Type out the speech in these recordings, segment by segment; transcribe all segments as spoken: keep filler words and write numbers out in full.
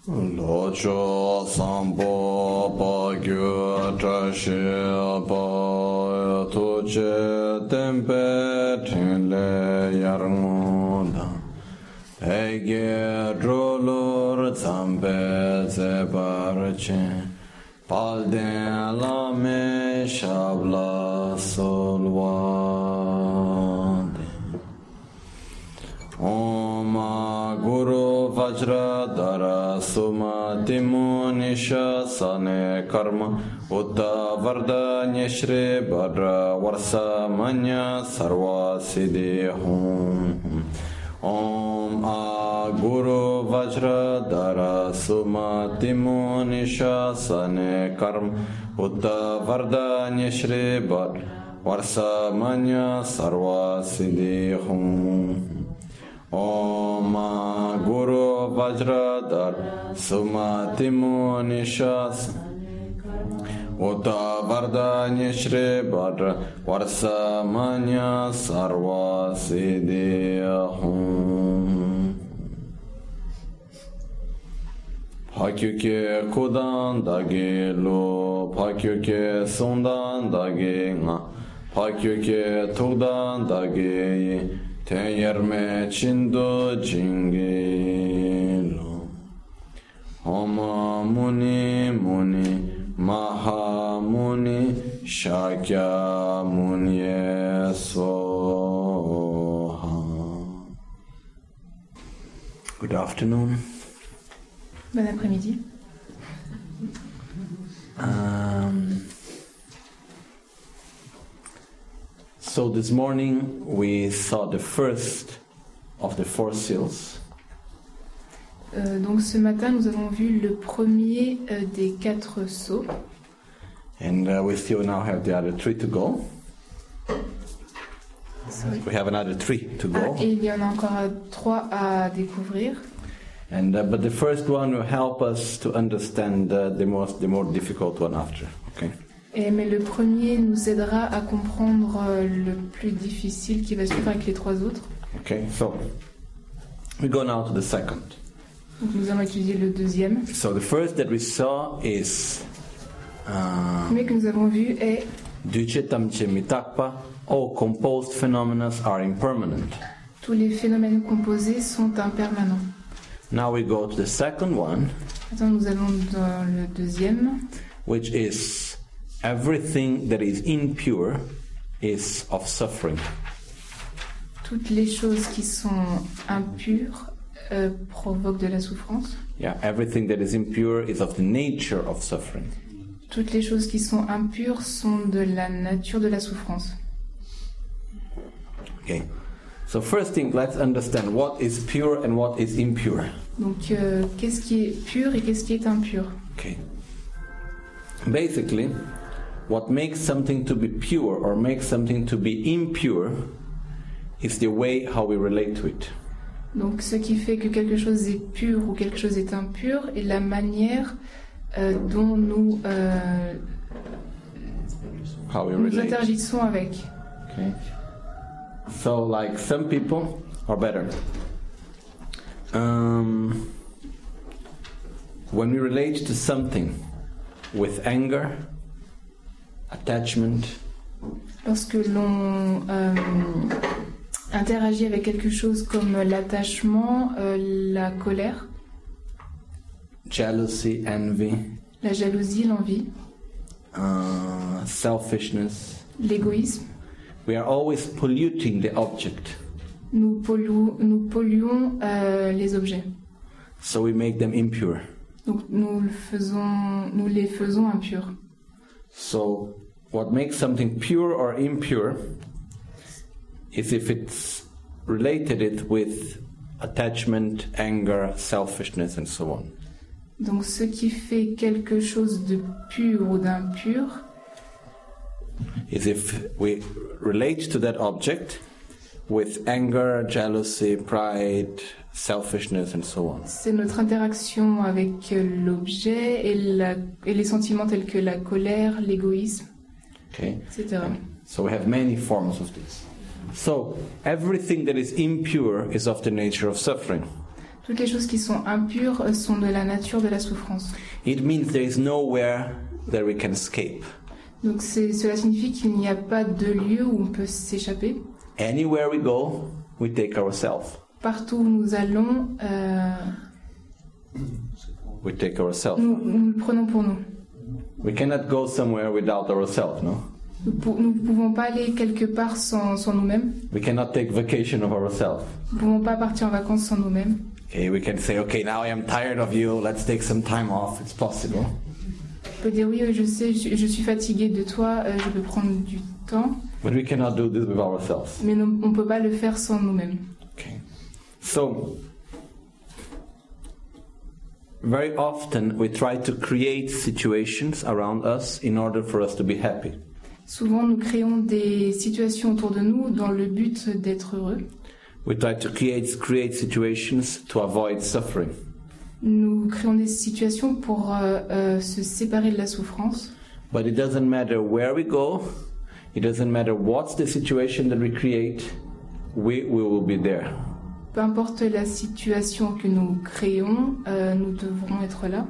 Locho sambo pa gyu trashi pa tuche tempe tenle yarngoda ege drolor zambe zebarche palden lame shabla solwade Om Guru Vajra Dara Suma Timu Nisha Sane Karma Uta Varda Nyeshri Badra Varsa Manya Sarva Siddhi Hum Om A Guru Vajra Dara Suma Timu Nisha Sane Karma Uta Varda Nyeshri Badra Varsa Manya Sarva Siddhi Hum Om Guru Vajradhar Sumatimu Nishas Uta Vardanya Shri Badra Varsa Manya Sarva Siddhiyahum Pakyuke Kudan Dagi Lo Pakyuke Sundan Dagi Nga Pakyuke Tudan Dagi Tenyerme Chindo Jingilo Homa Muni Muni Maha Muni Shakya Muni Soha. Good afternoon. Bon après-midi. Um, So this morning we saw the first of the four seals. Euh, donc ce matin nous avons vu le premier euh, des quatre sceaux. And uh, we still now have the other three to go. Sorry. We have another three to go. Ah, et il y en a encore euh, trois à découvrir. And uh, but the first one will help us to understand uh, the most the more difficult one after. Okay. Et, mais le premier nous aidera à comprendre euh, le plus difficile qui va suivre avec les trois autres. Okay. So we go now to the second. Donc nous allons étudier le deuxième. So the first that we saw is Le uh, premier que nous avons vu est Duchetamche mitakpa. All composed phenomena are impermanent. tous les phénomènes composés sont impermanents. Now we go to the second one, Maintenant nous allons dans le deuxième, which is everything that is impure is of suffering. toutes les choses qui sont impures euh, provoquent de la souffrance. Yeah, everything that is impure is of the nature of suffering. Toutes les choses qui sont impures sont de la nature de la souffrance. Okay. So first thing, let's understand what is pure and what is impure. Donc, euh, qu'est-ce qui est pur et qu'est-ce qui est impur? Okay. Basically, what makes something to be pure or makes something to be impure is the way how we relate to it. Donc, ce qui fait que quelque chose est pur ou quelque chose est impur est la manière euh, dont nous, euh, How we nous relate. interagissons avec. Okay. So, like some people, or better, um, when we relate to something with anger, attachment, Lorsque l'on euh, interagit avec quelque chose comme l'attachement, euh, la colère, jealousy, envy, la jalousie, l'envie, uh, selfishness, l'égoïsme, we are always polluting the object. nous, pollu- nous polluons euh, les objets. So we make them impure. Donc nous, le faisons, nous les faisons impurs. So what makes something pure or impure is if it's related it with attachment, anger, selfishness, and so on. Donc ce qui fait quelque chose de pur ou d'impur, Is if we relate to that object with anger, jealousy, pride, selfishness, and so on. c'est notre interaction avec l'objet et, la- et les sentiments tels que la colère, l'égoïsme, Okay? et cetera. So we have many forms of this. So everything that is impure is of the nature of suffering. Toutes les choses qui sont impures euh, sont de la nature de la souffrance. It means there is nowhere that we can escape. Donc c'est, cela signifie qu'il n'y a pas de lieu où on peut s'échapper. Anywhere we go, we take ourselves. Partout où nous allons, euh, We take ourselves. nous, nous le prenons pour nous. We cannot go somewhere without ourselves, no? Nous ne pouvons pas aller quelque part sans, sans nous-mêmes. We cannot take vacation of ourselves. Nous ne pouvons pas partir en vacances sans nous-mêmes. Okay, we can say, okay, now I am tired of you, let's take some time off. It's possible. On peut dire oui, je sais, je, je suis fatigué de toi, euh, je peux prendre du temps. But we cannot do this with ourselves. Mais non, on ne peut pas le faire sans nous-mêmes. Okay. So, very often we try to create situations around us in order for us to be happy. Souvent, nous créons des situations autour de nous dans le but d'être heureux. We try to create, create situations to avoid suffering. Nous créons des situations pour euh, euh, se séparer de la souffrance. But it doesn't matter where we go, it doesn't matter what's the situation that we create, we, we will be there. Peu importe la situation que nous créons, euh, nous devrons être là.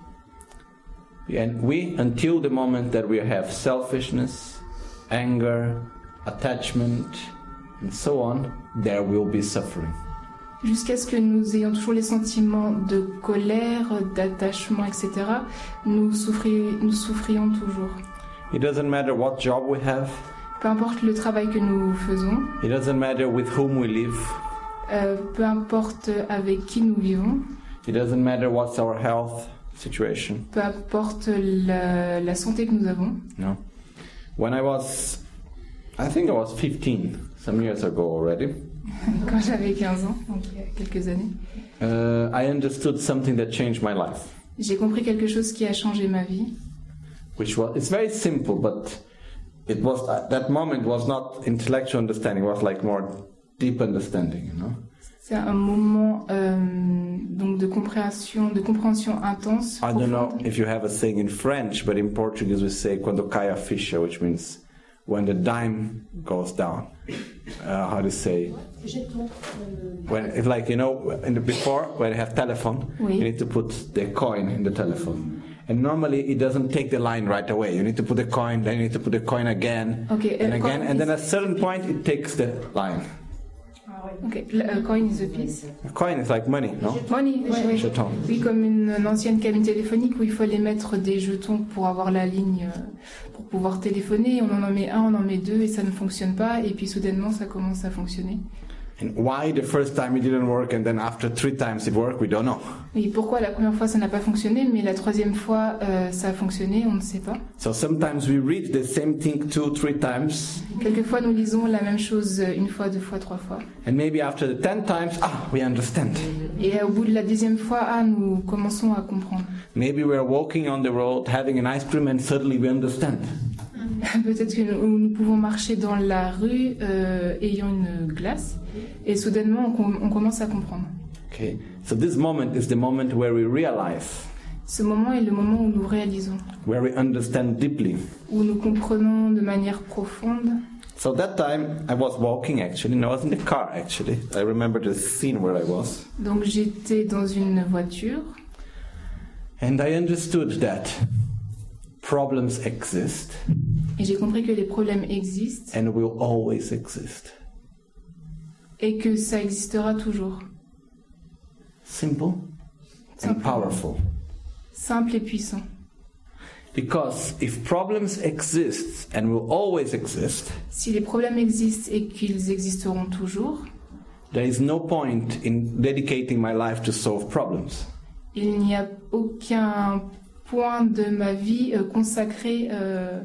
And we, until the moment that we have selfishness, anger, attachment, and so on, there will be suffering. Jusqu'à ce que nous ayons toujours les sentiments de colère, d'attachement, et cetera, nous, souffri- nous souffrions toujours. It doesn't matter what job we have, Peu importe le travail que nous faisons, it doesn't matter with whom we live, euh, peu importe avec qui nous vivons, it doesn't matter what's our health situation. peu importe la, la santé que nous avons. No. When I was, I think I was fifteen, some years ago already, Quand j'avais quinze ans, donc il y a quelques années, uh, I understood something that changed my life. j'ai compris quelque chose qui a changé ma vie. Which was, it's very simple, but it was, at that moment was not intellectual understanding, it was like more deep understanding, you know. C'est un moment euh, donc de compréhension, de compréhension intense. I don't know profonde. if you have a saying in French, but in Portuguese we say quando cai a ficha, which means when the dime goes down. Uh, how to say? When it's like, you know, in the before when you have telephone, Oui. you need to put the coin in the telephone. And normally it doesn't take the line right away. You need to put the coin, then you need to put the coin again, Okay, and uh, again, coin and then is- at a certain point it takes the line. Ok, le- euh, coin is a piece. A coin is like money, no? Money, ouais, ouais. Jeton. Oui, comme une, une ancienne cabine téléphonique où il fallait mettre des jetons pour avoir la ligne, euh, pour pouvoir téléphoner. On en met un, on en met deux et ça ne fonctionne pas. Et puis soudainement, ça commence à fonctionner. And why the first time it didn't work and then after three times it worked, we don't know. Et pourquoi la première fois ça n'a pas fonctionné, mais la troisième fois euh, ça a fonctionné, on ne sait pas. So sometimes we read the same thing two, three times, Quelquefois, nous lisons la même chose une fois, deux fois, trois fois. and maybe after the ten times, ah, we understand. Et au bout de la dixième fois, ah, nous commençons à comprendre. Maybe we're walking on the road, having an ice cream, and suddenly we understand. Peut-être que nous, nous pouvons marcher dans la rue euh, ayant une glace et soudainement on, com- on commence à comprendre. Okay, so this moment is the moment where we realize, Ce moment est le moment où nous réalisons, where we understand deeply. où nous comprenons de manière profonde. So that time I was walking actually, and I was in the car actually. I remember the scene where I was. Donc j'étais dans une voiture And I understood that problems exist et j'ai compris que les problèmes existent and will always exist. et que ça existera toujours. Simple and Simple. powerful. Simple et puissant. Because if problems exist and will always exist, Si les problèmes existent et qu'ils existeront toujours, there is no point in dedicating my life to solve problems. il n'y a aucun point de ma vie euh, consacré. euh,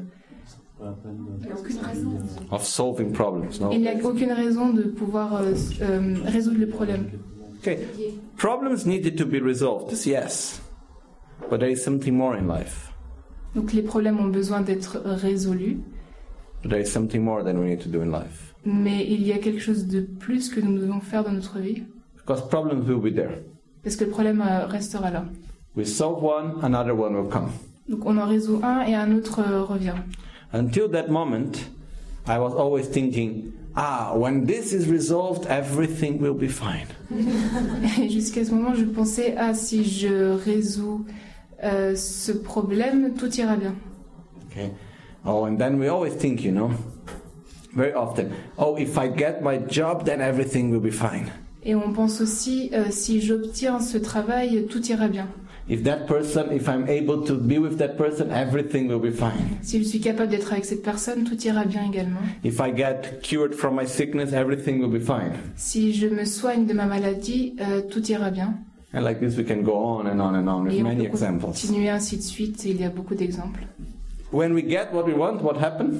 Of solving problems, no? il n'y a aucune raison de pouvoir euh, euh, résoudre le problème. Okay, problems needed to be resolved, yes. But there is something more in life. Donc les problèmes ont besoin d'être résolus, But there is something more than we need to do in life. mais il y a quelque chose de plus que nous devons faire dans notre vie, Because problems will be there. parce que le problème euh, restera là. We solve one, another one will come. Donc on en résout un et un autre euh, revient. Until that moment, I was always thinking, ah, when this is resolved, everything will be fine. Et jusqu'à ce moment, je pensais, ah, si je résous euh, ce problème, tout ira bien. Okay. Oh, and then we always think, you know, very often, oh, if I get my job, then everything will be fine. Et on pense aussi, euh, si j'obtiens ce travail, tout ira bien. If that person, if I'm able to be with that person, everything will be fine. Si je suis capable d'être avec cette personne, tout ira bien également. If I get cured from my sickness, everything will be fine. Si je me soigne de ma maladie, euh, tout ira bien. And like this, we can go on and on and on with Et on many peut examples. continuer ainsi de suite, et il y a beaucoup d'exemples. When we get what we want, what happens?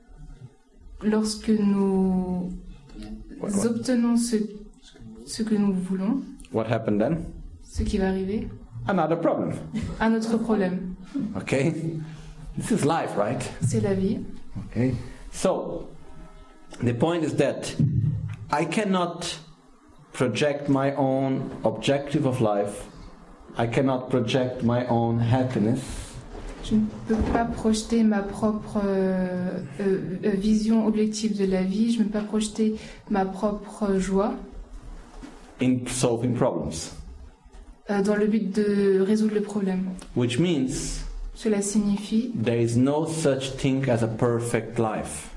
Lorsque nous What, what? obtenons ce, ce que nous voulons, What happened then? ce qui va arriver, Another problem. un autre problème. Okay? This is life, right? C'est la vie. Okay? So, the point is that I cannot project my own objective of life. I cannot project my own happiness. Je ne peux pas projeter ma propre euh, euh, vision objective de la vie, je ne peux pas projeter ma propre joie In solving problems. euh, dans le but de résoudre le problème. Which means Cela signifie there is no such thing as a perfect life.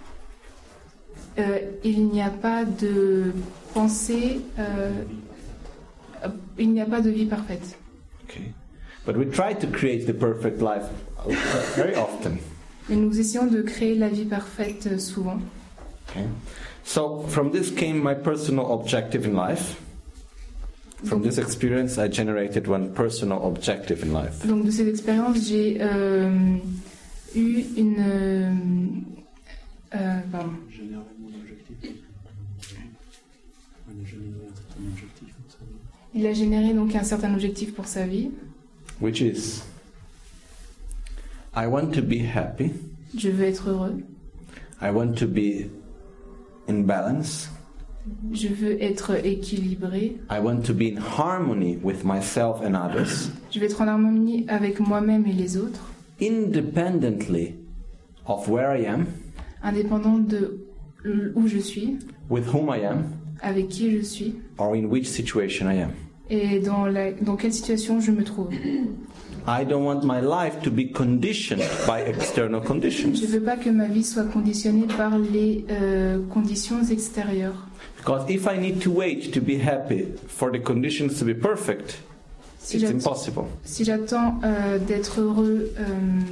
euh, il n'y a pas de pensée, euh, euh, il n'y a pas de vie parfaite. Okay? But we try to create the perfect life very often. Mais nous essayons de créer la vie parfaite euh, souvent. Okay? So from this came my personal objective in life. From this experience, I generated one personal objective in life. Donc de cette expérience, j'ai euh, eu une... Euh, euh, pardon. Générer mon objectif. On a généré un certain objectif pour sa vie. Il a généré donc un certain objectif pour sa vie. Which is, I want to be happy. Je veux être heureux. I want to be in balance. Je veux être équilibré. I want to be in harmony with myself and others, Je veux être en harmonie avec moi-même et les autres, independently of where I am, indépendant de où je suis, with whom I am, avec qui je suis or in which situation I am. et dans, la, dans quelle situation je me trouve. I don't want my life to be conditioned by external Je conditions. ne veux pas que ma vie soit conditionnée par les euh, conditions extérieures. Because if I need to wait to be happy for the conditions to be perfect, Si it's j'attends, impossible. si j'attends euh, d'être heureux, euh,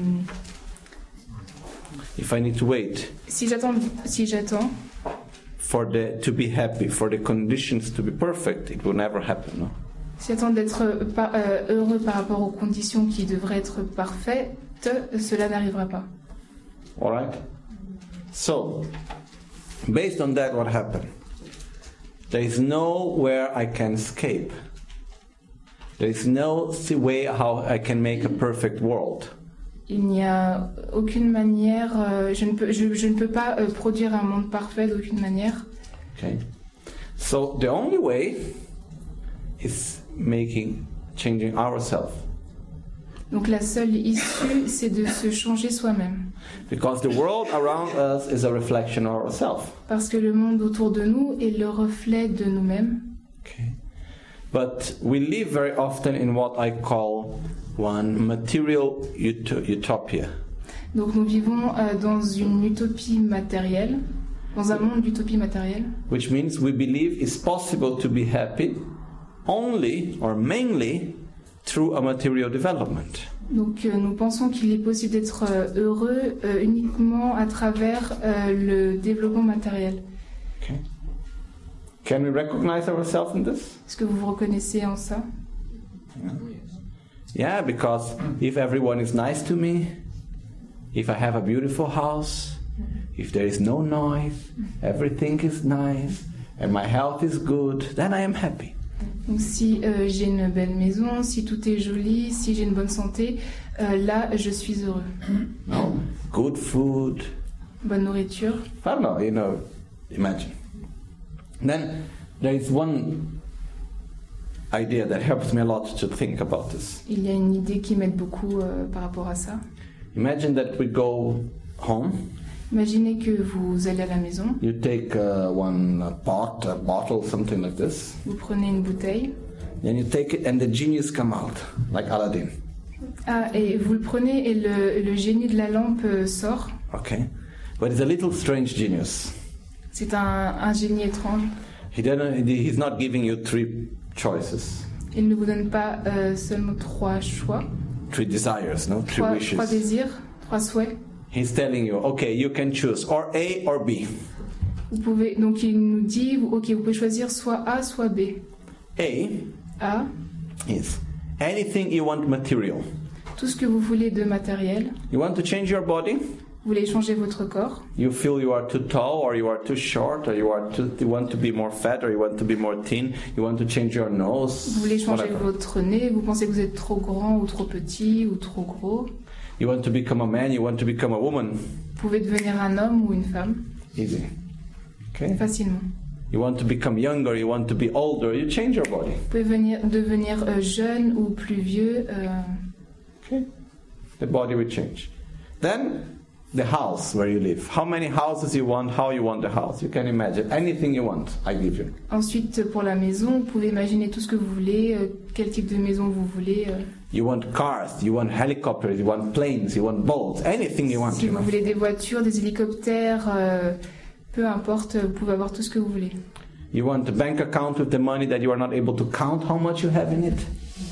If I need to wait si j'attends, si j'attends for the to be happy, for the conditions to be perfect, it will never happen. No? si j'attends d'être euh, par- euh, heureux par rapport aux conditions qui devraient être parfaites, cela n'arrivera pas. All right. So, based on that, what happened? There is nowhere I can escape. There is no th- way how I can make a perfect world. Il n'y a aucune manière, euh, je, ne peux, je, je ne peux pas euh, produire un monde parfait d'aucune manière. Okay. So the only way is making, changing ourselves, Donc la seule issue, c'est de se changer soi-même. because the world around us is a reflection of ourselves. Parce que le monde autour de nous est le reflet de nous-mêmes. Okay. But we live very often in what I call one material ut- utopia. Donc nous vivons euh, dans une utopie matérielle, dans un monde d'utopie matérielle. Which means we believe it's possible to be happy only or mainly through a material development. Donc euh, nous pensons qu'il est possible d'être euh, heureux euh, uniquement à travers euh, le développement matériel. Okay. Can we recognize ourselves in this? Est-ce que vous vous reconnaissez en ça? Yeah, because if everyone is nice to me, if I have a beautiful house, if there is no noise, everything is nice, and my health is good, then I am happy. Donc si euh, j'ai une belle maison, si tout est joli, si j'ai une bonne santé, euh, là je suis heureux. No? Good food. Bonne nourriture. I don't know, you know, imagine. Then there is one idea that helps me a lot to think about this. Il y a une idée qui m'aide beaucoup euh, par rapport à ça. Imagine that we go home Imaginez que vous allez à la maison, You take uh, one uh, pot, a bottle, something like this. vous prenez une bouteille, Then you take it and the genius come out, like Aladdin. ah, et vous le prenez et le, le génie de la lampe euh, sort. Okay? But it's a little strange genius. C'est un, un génie étrange. He doesn't, he's not giving you three choices, Il ne vous donne pas euh, seulement trois choix, three desires, no? Three trois, wishes. trois désirs, trois souhaits. He's telling you, okay, you can choose or A or B. Vous pouvez, donc il nous dit, ok, vous pouvez choisir soit A, soit B. A A, is anything you want material. tout ce que vous voulez de matériel. You want to change your body? Vous voulez changer votre corps. You feel you are too tall or you are too short or you are too, you want to be more fat or you want to be more thin. You want to change your nose. Vous voulez changer whatever. votre nez. Vous pensez que vous êtes trop grand ou trop petit ou trop gros. You want to become a man, you want to become a woman. Vous pouvez devenir un homme ou une femme Easy. Okay? facilement. You want to become younger, you want to be older, you change your body. Vous pouvez venir, devenir euh, jeune ou plus vieux. euh, Okay? The body will change. Then, the house where you live. How many houses you want, how you want the house. You can imagine. Anything you want, I give you. Ensuite, pour la maison, vous pouvez imaginer tout ce que vous voulez, euh, quel type de maison vous voulez. euh. You want cars, you want helicopters, you want planes, you want boats, anything you want. Si You vous know. voulez des voitures, des hélicoptères, euh, peu importe, vous pouvez avoir tout ce que vous voulez. You want a bank account with the money that you are not able to count how much you have in it.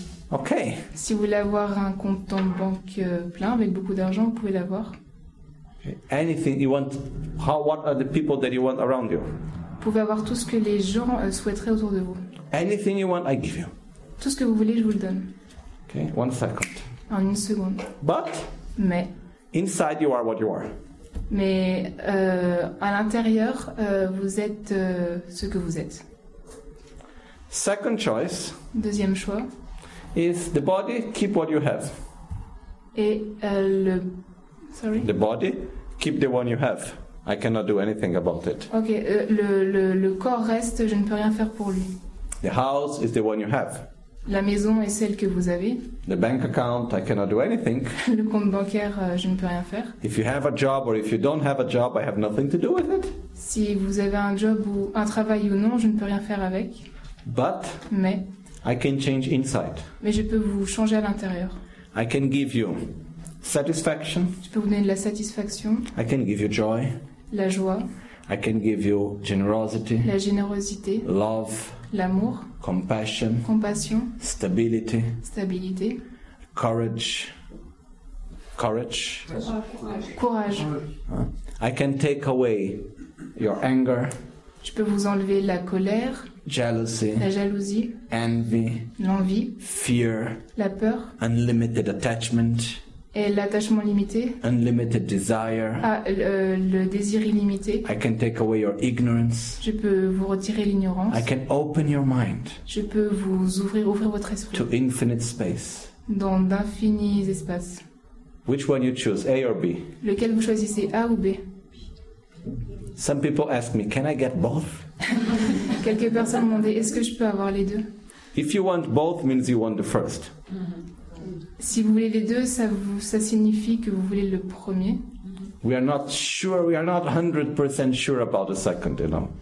Okay. Si vous voulez avoir un compte en banque euh, plein avec beaucoup d'argent, vous pouvez l'avoir. Okay. Anything you want. How? What are the people that you want around you? Vous pouvez avoir tout ce que les gens euh, souhaiteraient autour de vous. Anything you want, I give you. Tout ce que vous voulez, je vous le donne. Okay. One second. En une seconde. But Mais, inside you are what you are. mais euh, à l'intérieur, euh, vous êtes euh, ce que vous êtes. Second choice Deuxième choix. is the body. Keep what you have. Et euh, le... Sorry. The body. Keep the one you have. I cannot do anything about it. Ok, euh, le, le, le corps reste, je ne peux rien faire pour lui. The house is the one you have. La maison est celle que vous avez. The bank account, I cannot do anything. Le compte bancaire, euh, je ne peux rien faire. If you have a job or if you don't have a job, I have nothing to do with it. Si vous avez un job ou un travail ou non, je ne peux rien faire avec. But Mais, I can change inside. mais je peux vous changer à l'intérieur. I can give you satisfaction. Je peux vous donner de la satisfaction, I can give you joy. la joie, I can give you generosity, la générosité, love, l'amour, compassion, compassion, stability, stabilité, courage. Courage. courage. Huh? I can take away your anger, Je peux vous enlever la colère, jealousy, la jalousie, envy, l'envie, fear, la peur unlimited attachment, et l'attachement limité, unlimited desire. ah, le, le désir illimité. I can take away your ignorance. Je peux vous retirer l'ignorance. I can open your mind Je peux vous ouvrir, ouvrir votre esprit to infinite space. dans d'infinis espaces. Which one you choose, A or B? Lequel vous choisissez, A ou B? Some people ask me, can I get both? Quelques personnes m'ont demandé, est-ce que je peux avoir les deux? If you want both, means you want the first. Si vous voulez les deux, ça, vous, ça signifie que vous voulez le premier. We are not sure, we are not one hundred percent sure about the second, you know.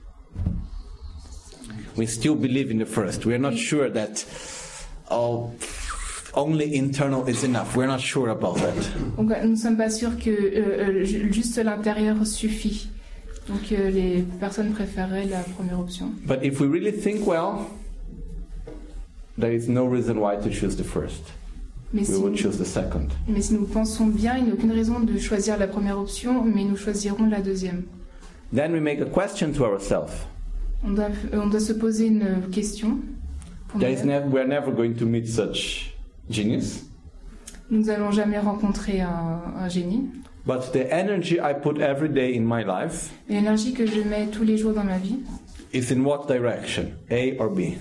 We still believe in the first. We are not sure that, oh, only internal is enough. We're not sure about that. Donc nous ne sommes pas sûrs que euh, euh, ju- juste l'intérieur suffit. Donc euh, les personnes préféreraient la première option. But if we really think well, there is no reason why to choose the first. Mais We si, would choose the second. mais si nous pensons bien, il n'y a aucune raison de choisir la première option, mais nous choisirons la deuxième. Then we make a question to ourselves. On doit, on doit se poser une question. Pour There is nous-mêmes. never, we are never going to meet such genius. Nous n'allons jamais rencontrer un, un génie. But the energy I put every day in my life Mais l'énergie que je mets tous les jours dans ma vie, is in what direction? A or B?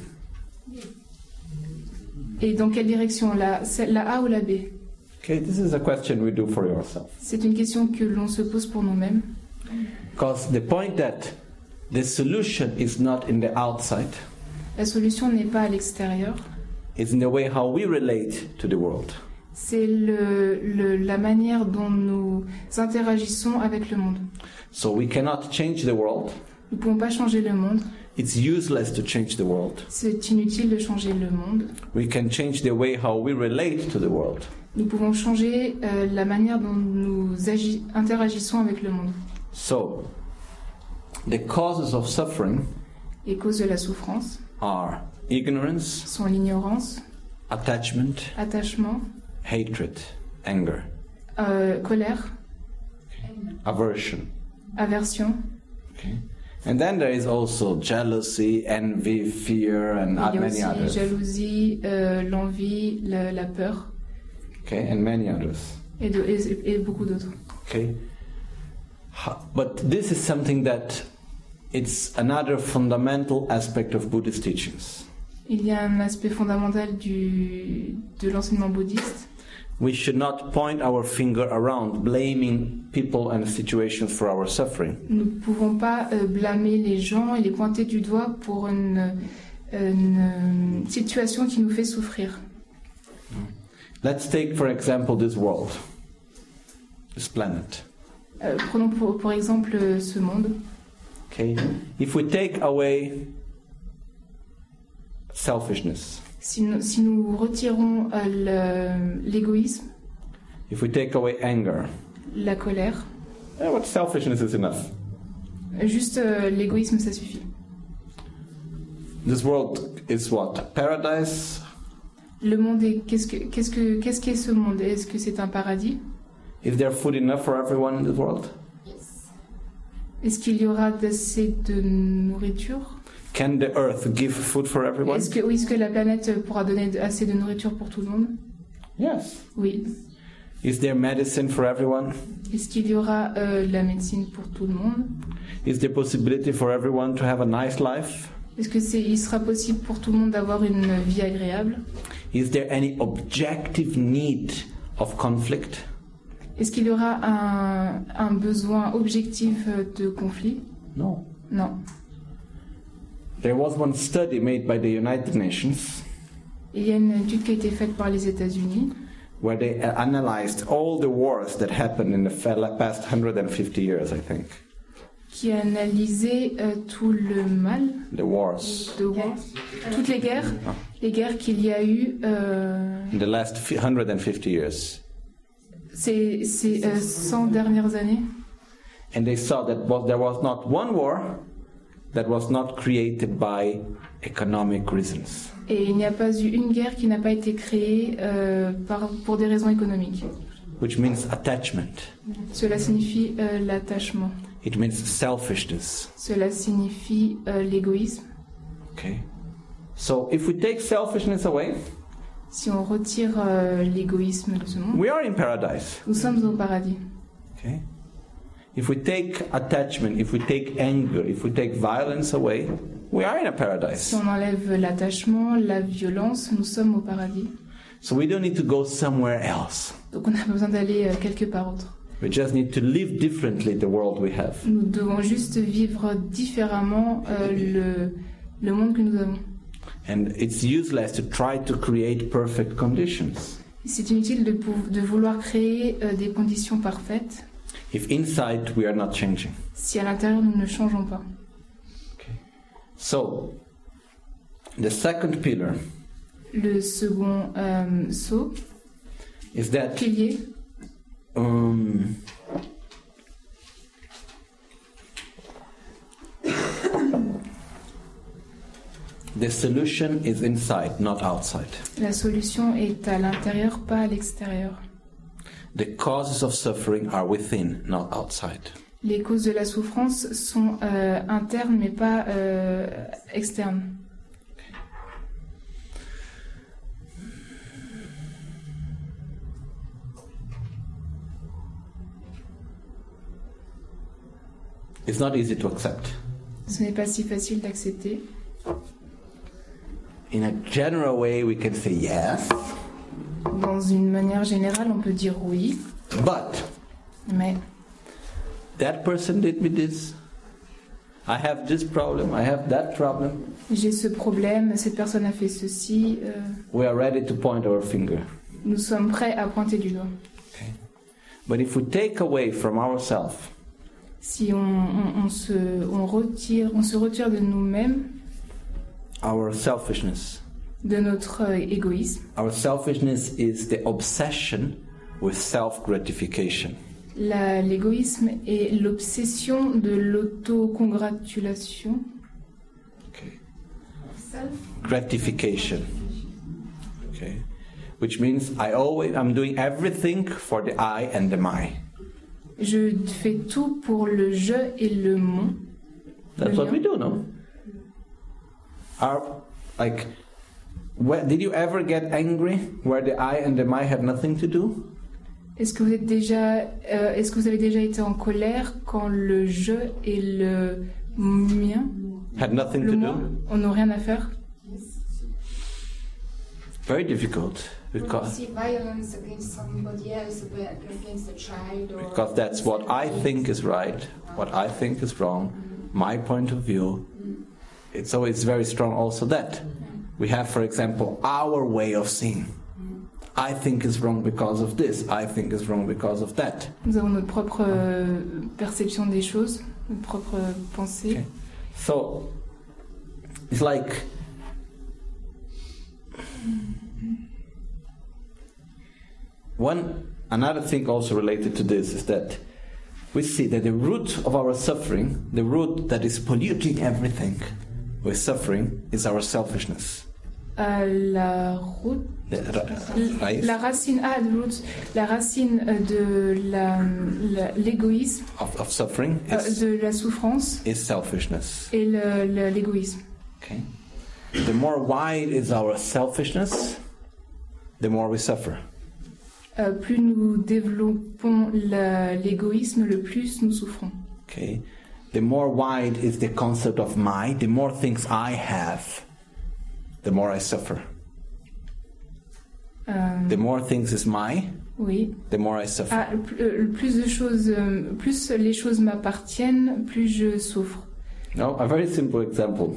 et dans quelle direction, la, celle- la A ou la B? Okay, this is a question we do for yourself. C'est une question que l'on se pose pour nous-mêmes. Because the point that the solution is not in the outside, La solution n'est pas à l'extérieur, it's in the way how we relate to the world. C'est le, le, la manière dont nous interagissons avec le monde. So we cannot change the world. Nous ne pouvons pas changer le monde. It's useless to change the world. C'est inutile de changer le monde. We can change the way how we relate to the world. Nous pouvons changer euh, la manière dont nous agi- interagissons avec le monde. So, the causes of suffering Les causes de la souffrance are ignorance, sont l'ignorance, attachment, attachement, hatred, anger, euh, colère, aversion. aversion. Okay. And then there is also jealousy, envy, fear, and Il y a many aussi others. jalousie, euh, l'envie, la, la peur Okay, and many others. et, de, et, et beaucoup d'autres. Okay. Ha- But this is something that it's another fundamental aspect of Buddhist teachings. Il y a un aspect fondamental du, de l'enseignement bouddhiste. We should not point our finger around, blaming people and situations for our suffering. Nous ne pouvons pas euh, blâmer les gens et les pointer du doigt pour une, une, euh, situation qui nous fait souffrir. Let's take, for example, this world, this planet. Euh, prenons pour, pour exemple euh, ce monde. Okay, if we take away selfishness, Si nous, si nous retirons euh, le- l'égoïsme, if we take away anger, la colère, eh, what selfishness is enough? juste euh, l'égoïsme, ça suffit. This world is what? Paradise? Le monde est qu'est-ce que qu'est-ce que qu'est-ce qu'est ce monde? Est-ce que c'est un paradis? Is there food enough for everyone in this world? Est-ce qu'il y aura assez de nourriture? Can the earth give food for everyone? Est-ce que oui, est-ce que la planète pourra donner de- assez de nourriture pour tout le monde? Yes. Oui. Is there medicine for everyone? Est-ce qu'il y aura euh, la médecine pour tout le monde? Is there possibility for everyone to have a nice life? Est-ce que c'est il sera possible pour tout le monde d'avoir une vie agréable? Is there any objective need of conflict? Est-ce qu'il y aura un, un besoin objectif de conflit? No. Non. There was one study made by the United Nations Il y a une étude qui a été faite par les États-Unis where they uh, analyzed all the wars that happened in the fa- past one hundred fifty years, I think. qui a analysé euh, tout le mal, The wars de war, toutes les guerres, les guerres qu'il y a eu euh, in the last fi- one hundred fifty years. ces, ces euh, cent dernières années. And they saw that was, there was not one war that was not created by economic reasons. Et il n'y a pas eu une guerre qui n'a pas été créée euh, par, pour des raisons économiques. Which means attachment. Cela signifie euh, l'attachement. It means selfishness. Cela signifie euh, l'égoïsme. Okay? So if we take selfishness away, Si on retire euh, l'égoïsme de ce monde, we are in paradise. nous sommes au paradis. Okay? If we take attachment, if we take anger, if we take violence away, we are in a Si paradise. on enlève l'attachement, la violence, nous sommes au paradis. So we don't need to go somewhere else. Donc on n'a pas besoin d'aller euh, quelque part autre. We just need to live differently the world we have. Nous devons juste vivre différemment euh, le, le monde que nous avons. And it's useless to try to create perfect conditions C'est inutile de, pou- de vouloir créer euh, des conditions parfaites if inside we are not changing. si à l'intérieur nous ne changeons pas. So, the second pillar Le second euh, saut, is that pilier, um, the solution is inside, not outside. la solution est à l'intérieur, pas à l'extérieur. The causes of suffering are within, not outside. Les causes de la souffrance sont euh, internes mais pas euh, externes. It's not easy to accept. Ce n'est pas si facile d'accepter. In a general way, we can say yes, Dans une manière générale, on peut dire oui, but mais that person did me this. I have this problem, I have that problem. j'ai ce problème, cette personne a fait ceci. euh, We are ready to point our finger. nous sommes prêts à pointer du doigt. Okay. But if we take away from ourselves Si on, on, on, se, on, retire, on se retire de nous-mêmes, our selfishness, de notre euh, égoïsme, our selfishness is the obsession with self-gratification. la- l'égoïsme est l'obsession de l'autocongratulation. Okay. Gratification. Okay. Which means I always I'm doing everything for the I and the my. Je fais tout pour le je et le mon. That's Le what mien. we do, no? Are like where, did you ever get angry where the I and the my had nothing to do? Est-ce que vous êtes déjà, euh, est-ce que vous avez déjà été en colère quand le je et le mien, Had nothing le to moi, do? on n'a rien à faire? Very difficult When you because see violence against somebody else, against a child, or because that's what I think is right, what I think is wrong, my point of view. It's always very strong also that. We have, for example, our way of seeing. I think is wrong because of this, I think is wrong because of that. Nous avons notre propre euh, perception des choses, notre propre pensée. Okay. So, it's like one another thing also related to this is that we see that the root of our suffering, the root that is polluting everything with suffering, is our selfishness. Euh, la route, The ra- raíz la racine, ah, the root, la racine euh, de la, la- l'égoïsme, of, of suffering euh, is, de la souffrance is selfishness. et le- le- l'égoïsme. Okay? The more wide is our selfishness, the more we suffer. Euh, plus nous développons la- l'égoïsme, le plus nous souffrons. Okay? The more wide is the concept of my, the more things I have, the more I suffer. Euh, The more things is my, oui. the more I suffer. Ah, le plus- euh, le plus de choses, euh, plus les choses m'appartiennent, plus je souffre. No, a very simple example.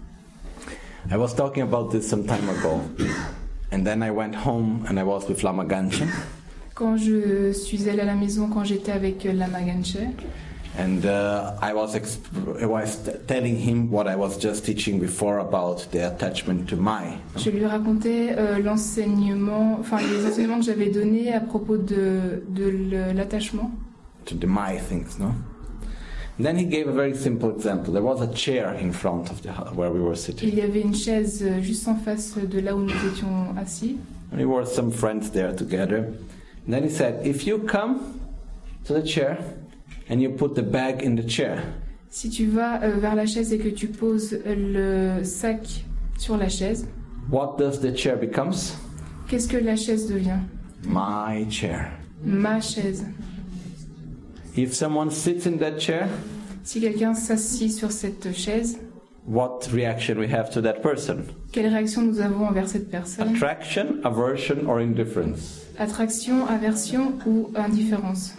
I was talking about this some time ago, and then I went home and I was with Lama Ganchen, Quand je suis allée à la maison, quand j'étais avec euh, Lama Ganche, and uh, I was exp- I was t- telling him what I was just teaching before about the attachment to my. je lui racontais euh, l'enseignement, enfin les enseignements que j'avais donnés à propos de, de le- l'attachement. To the my things, no? And then he gave a very simple example. There was a chair in front of the hu- where we were sitting. Il y avait une chaise euh, juste en face de là où nous étions assis. And we were some friends there together. And then he said, if you come to the chair and you put the bag in the chair, Si tu vas euh, vers la chaise et que tu poses le sac sur la chaise, what does the chair becomes? qu'est-ce que la chaise devient? My chair. Ma chaise. If someone sits in that chair, Si quelqu'un s'assit sur cette chaise, what reaction we have to that person? quelle réaction nous avons envers cette personne? Attraction, aversion, or indifference? Attraction, aversion ou indifférence?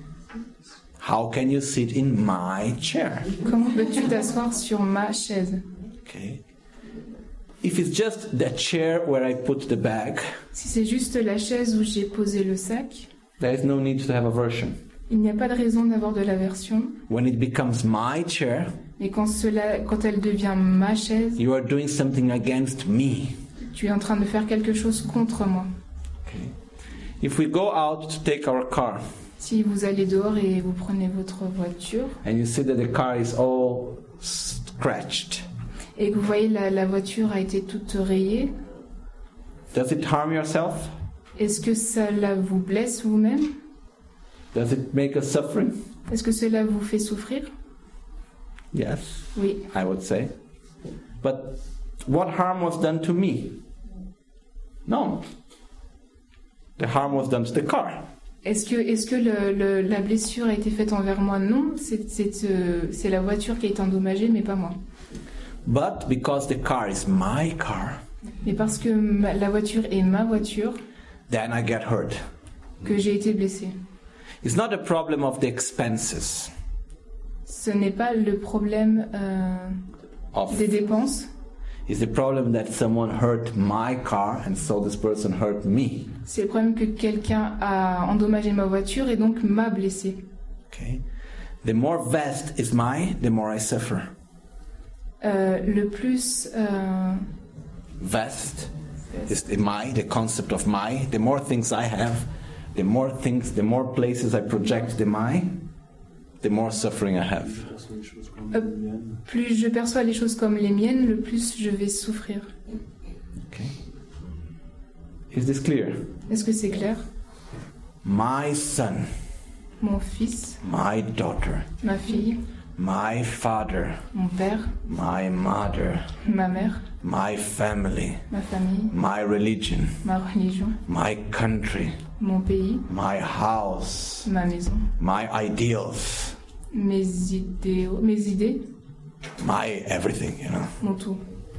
How can you sit in my chair? Comment peux-tu t'asseoir sur ma chaise? Okay. If it's just the chair where I put the bag, Si c'est juste la chaise où j'ai posé le sac, there is no need to have aversion. il n'y a pas de raison d'avoir de l'aversion. When it becomes my chair, Mais quand, cela, quand elle devient ma chaise, you are doing something against me. tu es en train de faire quelque chose contre moi. Okay. If we go out to take our car Si vous allez dehors et vous prenez votre voiture and you see that the car is all scratched, et que vous voyez la, la voiture a été toute rayée, does it harm yourself? est-ce que cela vous blesse vous-même? Does it make us suffering? Est-ce que cela vous fait souffrir? Yes, Oui. I would say. But what harm was done to me? No. The harm was done to the car. Est-ce que, est-ce que le, le- la blessure a été faite envers moi? Non, c'est, c'est, euh, c'est la voiture qui a été endommagée, mais pas moi. But because the car is my car, Mais parce que ma- la voiture est ma voiture, then I get hurt. que j'ai été blessée. It's not a problem of the expenses Ce n'est pas le problème euh, of des dépenses, Is the problem that someone hurt my car and so this person hurt me? C'est le problème que quelqu'un a endommagé ma voiture et donc m'a blessé. Okay. The more vast is my, the more I suffer. Euh, le plus euh, Vast is the my, the concept of my. The more things I have, the more things, the more places I project the my, the more suffering I have. Je perçois les choses comme Euh, les miennes. plus je perçois les choses comme les miennes, le plus je vais souffrir. Okay. Is this clear? Est-ce que c'est clair? My son, Mon fils, my daughter, ma fille, my father, mon père, my mother, ma mère, my family, ma famille, my religion, ma religion, my country, mon pays, my house, ma maison, my ideals, mes idéaux, mes idées, my everything, you know. mon tout.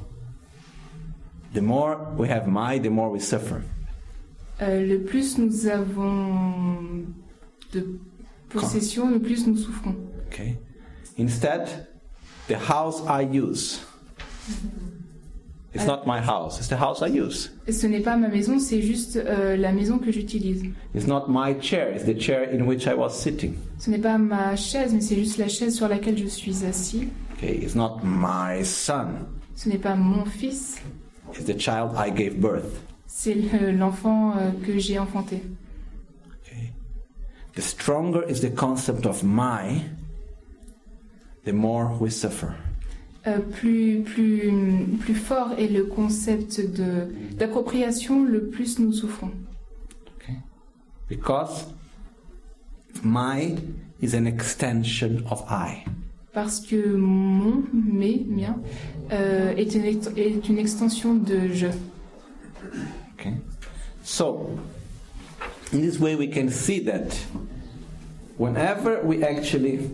The more we have my, the more we suffer. Euh, le plus nous avons de possession, le plus nous souffrons. Okay. Instead, the house I use. It's not my house, it's the house I use. Et ce n'est pas ma maison, c'est juste euh, la maison que j'utilise. It's not my chair, it's the chair in which I was sitting. Ce n'est pas ma chaise, mais c'est juste la chaise sur laquelle je suis assis. Okay, it's not my son, Ce n'est pas mon fils, it's the child I gave birth. c'est le- l'enfant euh, que j'ai enfanté. Okay. The stronger is the concept of my, the more we suffer. Euh, plus, plus, plus fort est le concept de, d'appropriation, le plus nous souffrons. Okay. Because my is an extension of I. Parce que mon, mes, mien, euh, est, une, ext- est une extension de je. Okay. So, in this way we can see that whenever we actually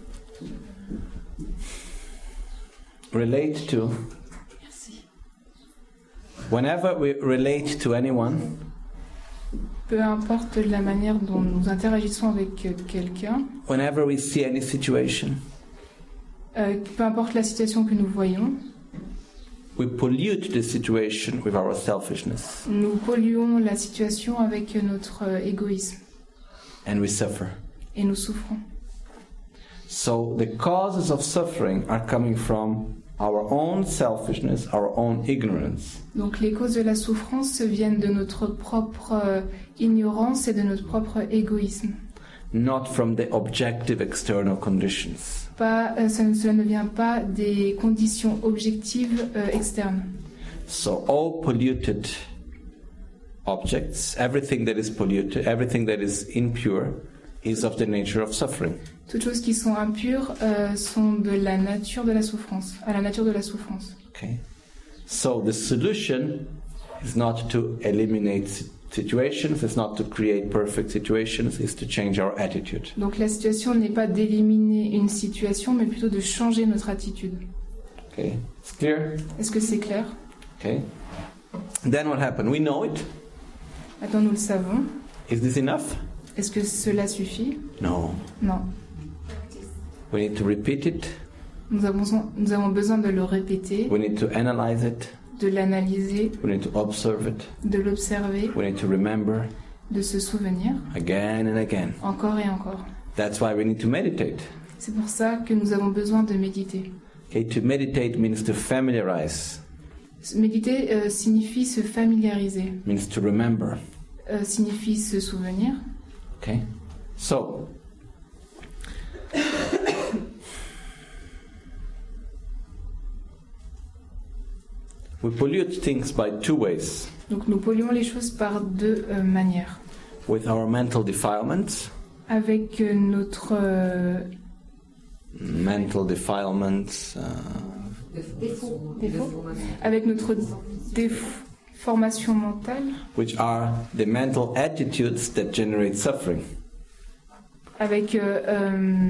relate to whenever we relate to anyone, Peu importe la manière dont nous interagissons avec euh, quelqu'un, whenever we see any situation, euh, peu importe la situation que nous voyons, we pollute the situation with our selfishness nous polluons la situation avec notre euh, égoïsme and we suffer. et nous souffrons. So the causes of suffering are coming from our own selfishness, our own ignorance. Donc les causes de la souffrance viennent de notre propre euh, ignorance et de notre propre égoïsme. Not from the objective external conditions. Pas, euh, ça ne- cela ne vient pas des conditions objectives euh, externes. So all polluted objects, everything that is polluted, everything that is impure, is of the nature of suffering. Toutes choses qui sont impures euh, sont de la nature de la souffrance, à la nature de la souffrance. Okay? So the solution is not to eliminate si- situations, it's not to create perfect situations, it's to change our attitude. Donc la situation n'est pas d'éliminer une situation, mais plutôt de changer notre attitude. Okay? It's clear? Est-ce que c'est clair? Okay? Then what happened? We know it. Maintenant nous le savons. Is this enough? Est-ce que cela suffit? No. Non. We need to repeat it. Nous avons, nous avons besoin de le répéter, We need to analyze it. de l'analyser, We need to observe it. de l'observer, We need to remember de se souvenir, again and again. encore et encore. That's why we need to meditate. C'est pour ça que nous avons besoin de méditer. Okay, to meditate means to familiarize, Méditer euh, signifie se familiariser, means to remember. euh, signifie se souvenir. Okay? So, we pollute things by two ways. Donc nous polluons les choses par deux euh, manières. With our mental defilements, Avec euh, notre euh, mental defilements, uh, défaut, avec notre déformation mentale, which are the mental attitudes that generate suffering. avec euh, euh,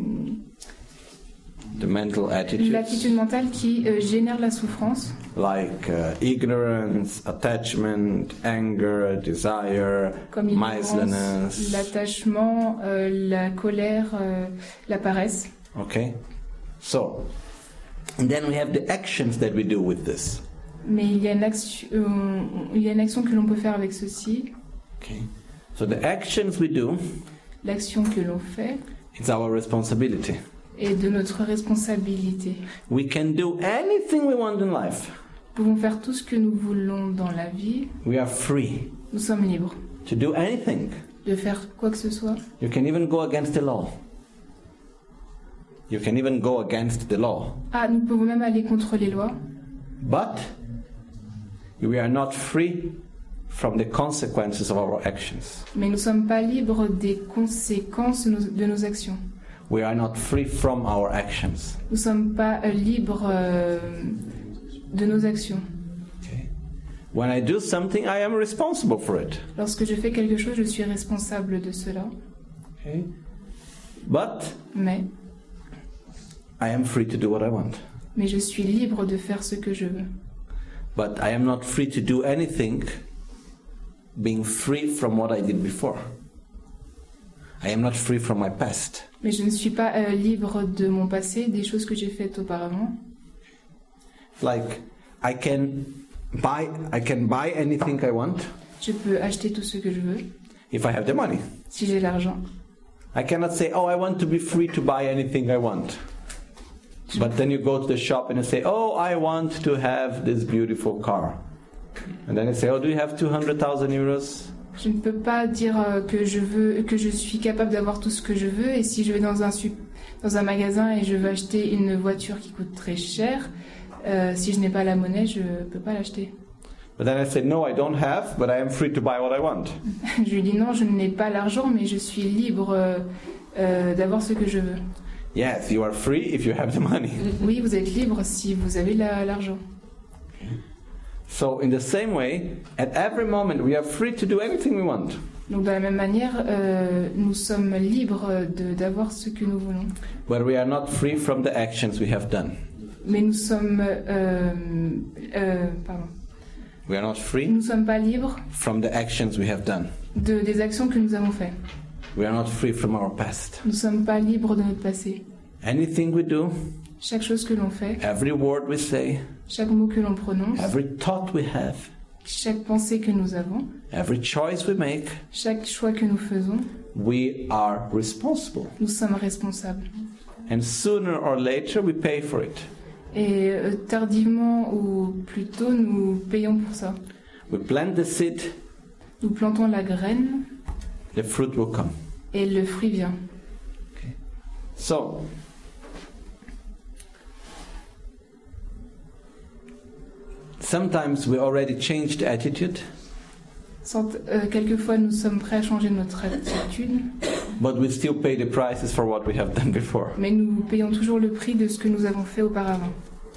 The mental attitudes, l'attitude mentale qui euh, génère la souffrance, like uh, ignorance, attachment, anger, desire, comme l'ignorance, miserliness. l'attachement, euh, la colère, euh, la paresse. Okay? So, And then we have the actions that we do with this. Mais il y a une action, euh, il y a une action que l'on peut faire avec ceci. Okay. So the actions we do, L'action que l'on fait it's our responsibility. est de notre responsabilité. We can do anything we want in life. Nous pouvons faire tout ce que nous voulons dans la vie. We are free Nous sommes libres to do anything. de faire quoi que ce soit. You can even go against the law. You can even go against the law. Ah, nous pouvons même aller contre les lois. But we are not free from the consequences of our actions. Mais nous ne sommes pas libres des conséquences de nos, de nos actions. We are not free from our actions. Nous ne sommes pas euh, libres euh, de nos actions. Okay. When I do something, I am responsible for it. Lorsque je fais quelque chose, je suis responsable de cela. Okay. But Mais, I am free to do what I want. mais je suis libre de faire ce que je veux. But I am not free to do anything being free from what I did before. I am not free from my past. Mais je ne suis pas euh, libre de mon passé, des choses que j'ai faites auparavant. Like I can buy I can buy anything I want Je peux acheter tout ce que je veux if I have the money. si j'ai l'argent. I cannot say, "Oh, I want to be free to buy anything I want." But then you go to the shop and you say, "Oh, I want to have this beautiful car." And then you say, "Oh, do you have two hundred thousand euros?" Je ne peux pas dire euh, que je veux, que je suis capable d'avoir tout ce que je veux, et si je vais dans un, sup- dans un magasin et je veux acheter une voiture qui coûte très cher, euh, si je n'ai pas la monnaie, je ne peux pas l'acheter. But then I say, "No, I don't have, but I am free to buy what I want." Je lui dis non, je n'ai pas l'argent, mais je suis libre euh, euh, d'avoir ce que je veux. Yes, you are free if you have the money. Oui, vous êtes libre si vous avez la- l'argent. So in the same way, at every moment we are free to do anything we want. Donc de la même manière, euh, nous sommes libres de- d'avoir ce que nous voulons. But we are not free from the actions we have done. Mais nous sommes... euh, euh, pardon. We are not free Nous ne sommes pas libres from the actions we have done. de, des actions que nous avons faites. We are not free from our past. Nous ne sommes pas libres de notre passé. Anything we do, Chaque chose que l'on fait, every word we say, chaque mot que l'on prononce, every thought we have, chaque pensée que nous avons, every choice we make, chaque choix que nous faisons, we are responsible. nous sommes responsables. And sooner or later we pay for it. Et euh, tardivement ou plus tôt, nous payons pour ça. We plant the seed, Nous plantons la graine the fruit will come. et le fruit vient. So, sometimes we already changed attitude, Sans- euh, quelquefois, nous sommes prêts à changer notre attitude, but we still pay the prices for what we have done before. mais nous payons toujours le prix de ce que nous avons fait auparavant.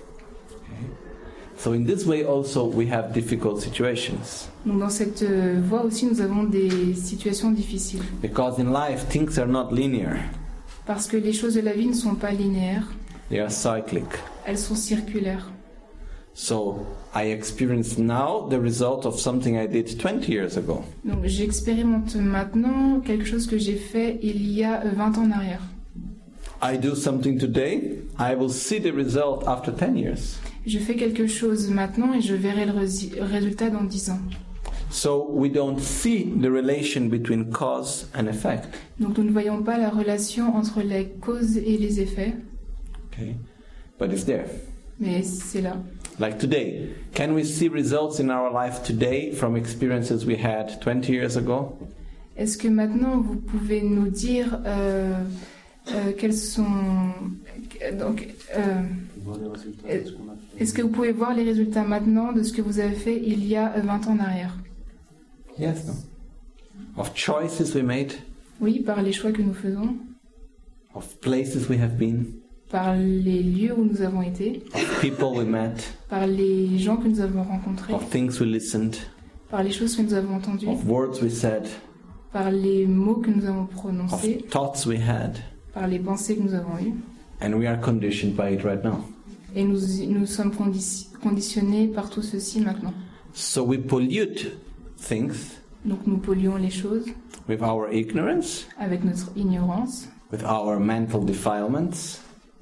So in this way also we have difficult situations. Donc dans cette euh, voie aussi, nous avons des situations difficiles. Because in life things are not linear. Parce que les choses de la vie ne sont pas linéaires, They are cyclic. elles sont circulaires. So I experience now the result of something I did twenty years ago. Donc j'expérimente maintenant quelque chose que j'ai fait il y a euh, vingt ans en arrière. I do something today, I will see the result after ten years. Je fais quelque chose maintenant et je verrai le rési- résultat dans dix ans. So we don't see the relation between cause and effect. Donc nous ne voyons pas la relation entre les causes et les effets, Okay? But it's there. mais c'est là. Like today, can we see results in our life today from experiences we had twenty years ago? Est-ce que maintenant vous pouvez nous dire euh, euh, quels sont... Donc, euh, Voir les résultats Et- de ce qu'on a fait. est-ce que vous pouvez voir les résultats maintenant de ce que vous avez fait il y a euh, vingt ans en arrière? Yes, no? Of choices we made, Oui, par les choix que nous faisons, of places we have been, par les lieux où nous avons été, of people we met, par les gens que nous avons rencontrés, of things we listened, par les choses que nous avons entendues, of words we said, par les mots que nous avons of prononcés, thoughts we had, par les pensées que nous avons eues. and we are conditioned by it right now. Et nous, nous sommes condi- conditionnés par tout ceci maintenant. So we pollute things Donc nous polluons les choses with our ignorance, avec notre ignorance, with our mental defilements,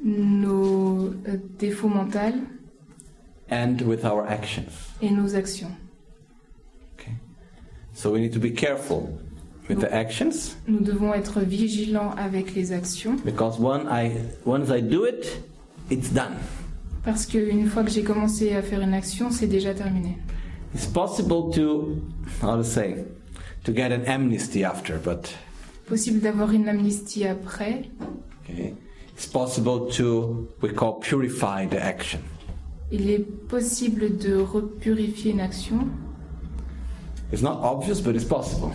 nos euh, défauts mentaux and with our actions. et nos actions. Okay? So we need to be careful with the actions, Nous devons être vigilants avec les actions because when I, once I do it, it's done. parce qu'une fois que j'ai commencé à faire une action, c'est déjà terminé. It's possible to, how to say, to get an amnesty after, but Possible d'avoir une amnistie après. okay. It's possible to, we call purify the action. Il est possible de repurifier une action. It's not obvious, but it's possible.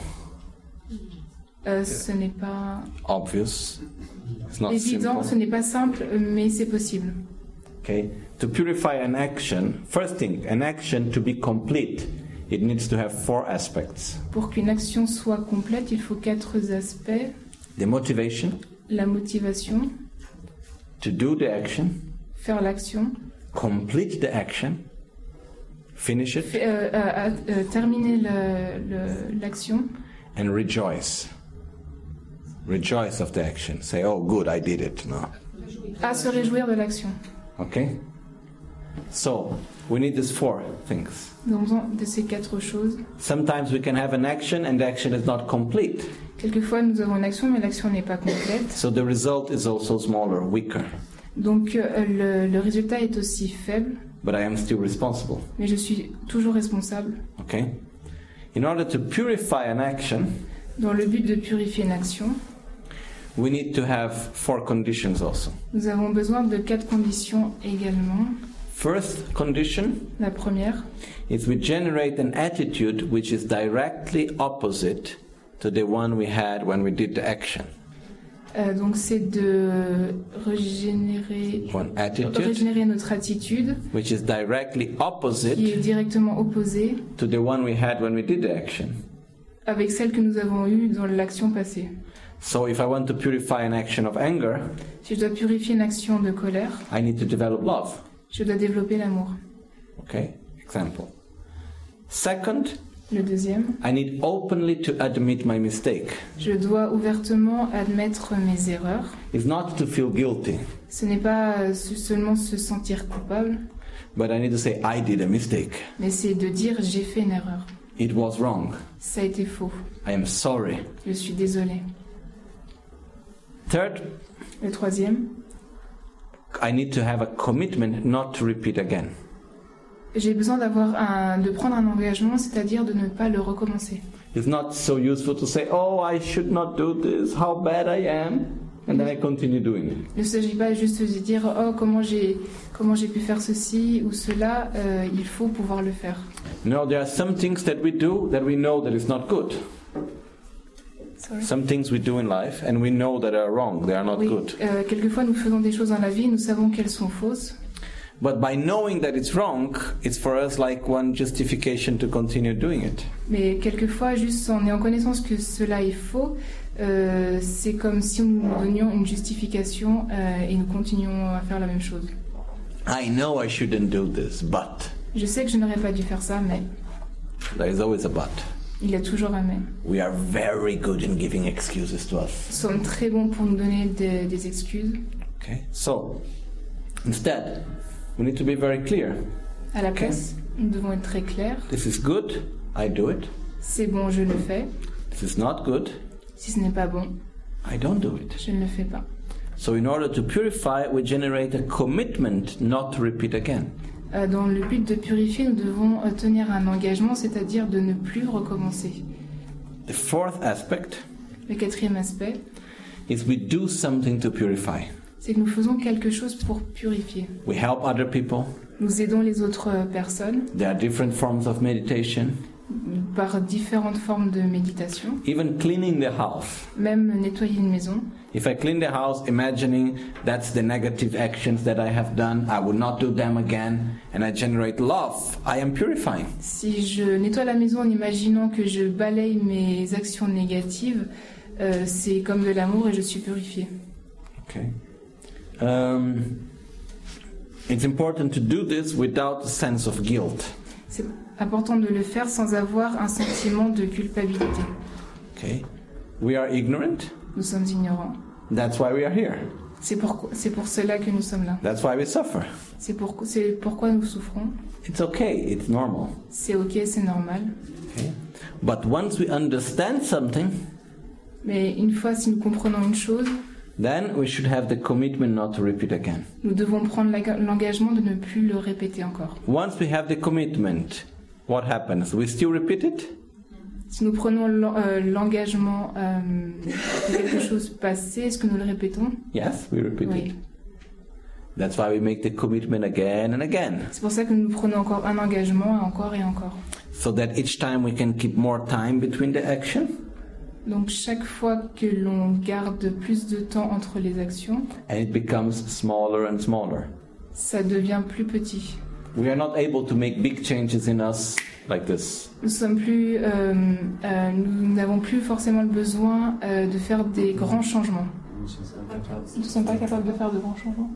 Euh, ce n'est pas Obvious. It's not évident, ce simple. n'est pas simple, mais c'est possible. Okay. To purify an action, first thing, an action to be complete, it needs to have four aspects. Pour qu'une action soit complète, il faut quatre aspects. The motivation La motivation, to do the action, faire l'action, complete the action, finish it, fait- euh, euh, euh, terminer le- le- l'action and rejoice. Rejoice of the action. Say, oh, good, I did it. No. à se réjouir de l'action. Okay? So, we need these four things. Nous avons besoin de ces quatre choses. Sometimes we can have an action and the action is not complete. Quelquefois, nous avons une action, mais l'action n'est pas complète. So the result is also smaller, weaker. Donc, euh, le, le résultat est aussi faible, But I am still responsible. mais je suis toujours responsable. Okay? In order to purify an action, Dans le but de purifier une action, we need to have four conditions also. nous avons besoin de quatre conditions également. First condition La première, is we generate an attitude which is directly opposite to the one we had when we did the action. euh, donc c'est de régénérer, One attitude régénérer notre attitude which is directly qui est opposite directement opposée to the one we had when we did the action. avec celle que nous avons eue dans l'action passée. So if I want to purify an action of anger, Si je dois purifier une action de colère, I need to develop love. je dois développer l'amour. Okay? Example. Second, Le deuxième, I need openly to admit my mistake. je dois ouvertement admettre mes erreurs. It's not to feel guilty, Ce n'est pas euh, se- seulement se sentir coupable, but I need to say I did a mistake. mais c'est de dire j'ai fait une erreur. It was wrong. Ça a été faux. I am sorry. Je suis désolée. Third, Le troisième, I need to have a commitment not to repeat again. j'ai besoin d'avoir un, de prendre un engagement, c'est-à-dire de ne pas le recommencer. It's not so useful to say, oh, I should not do this, how bad I am, and then I continue doing it. Il ne s'agit pas juste de dire oh comment j'ai comment j'ai pu faire ceci ou cela. Euh, il faut pouvoir le faire. No, there are some things that we do that we know that is not good. Sorry. Some things we do in life and we know that are wrong, they are not Oui, good. euh, quelquefois nous faisons des choses dans la vie, nous savons qu'elles sont fausses, But by knowing that it's wrong, it's for us like one justification to continue doing it. mais quelquefois juste en ayant connaissance que cela est faux, euh, c'est comme si nous nous donnions une justification euh, et nous continuons à faire la même chose. I know I shouldn't do this, but Je sais que je n'aurais pas dû faire ça, mais there is always a but. il y a toujours un mais. We are very good in giving excuses to us. Nous sommes très bons pour nous donner des, des excuses. Okay? So, instead, we need to be very clear. À la place, nous devons être très clairs. This is good, I do it. C'est bon, je le fais. This is not good, Si ce n'est pas bon, I don't do it. je ne le fais pas. So in order to purify, we generate a commitment not to repeat again. Euh, Dans le but de purifier, nous devons euh, tenir un engagement, c'est-à-dire de ne plus recommencer. The fourth aspect Le quatrième aspect, is we do something to purify. c'est que nous faisons quelque chose pour purifier. We help other people. Nous aidons les autres euh, personnes There are different forms of meditation. par différentes formes de méditation, Even cleaning the house. même nettoyer une maison. If I clean the house imagining that's the negative actions that I have done, I will not do them again, and I generate love, I am purifying. Si je nettoie la maison en imaginant que je balaye mes actions négatives, euh, c'est comme de l'amour et je suis purifiée. Okay. Um, it's important to do this without a sense of guilt. C'est important de le faire sans avoir un sentiment de culpabilité. Okay. We are ignorant. Nous sommes ignorants. That's why we are here. C'est pour, c'est pour cela que nous sommes là. That's why we suffer. C'est pour, c'est pourquoi nous souffrons. It's okay, it's normal. C'est ok, c'est normal. Okay? But once we understand something, Mais une fois, si nous comprenons une chose, then we should have the commitment not to repeat again. nous devons prendre la- l'engagement de ne plus le répéter encore. Once we have the commitment, what happens? We still repeat it? Si nous prenons l'en- euh, l'engagement euh, de quelque chose passé, est-ce que nous le répétons? Yes, we repeat Oui. it. That's why we make the commitment again and again. C'est pour ça que nous prenons encore un engagement, encore et encore. So that each time we can keep more time between the action Donc chaque fois que l'on garde plus de temps entre les actions, and it becomes smaller and smaller. ça devient plus petit. We are not able to make big changes in us like this. Nous sommes plus, euh, euh, nous n'avons plus forcément le besoin euh, de faire des grands changements. Nous ne sommes pas capables. Nous ne sommes pas capables de faire de grands changements.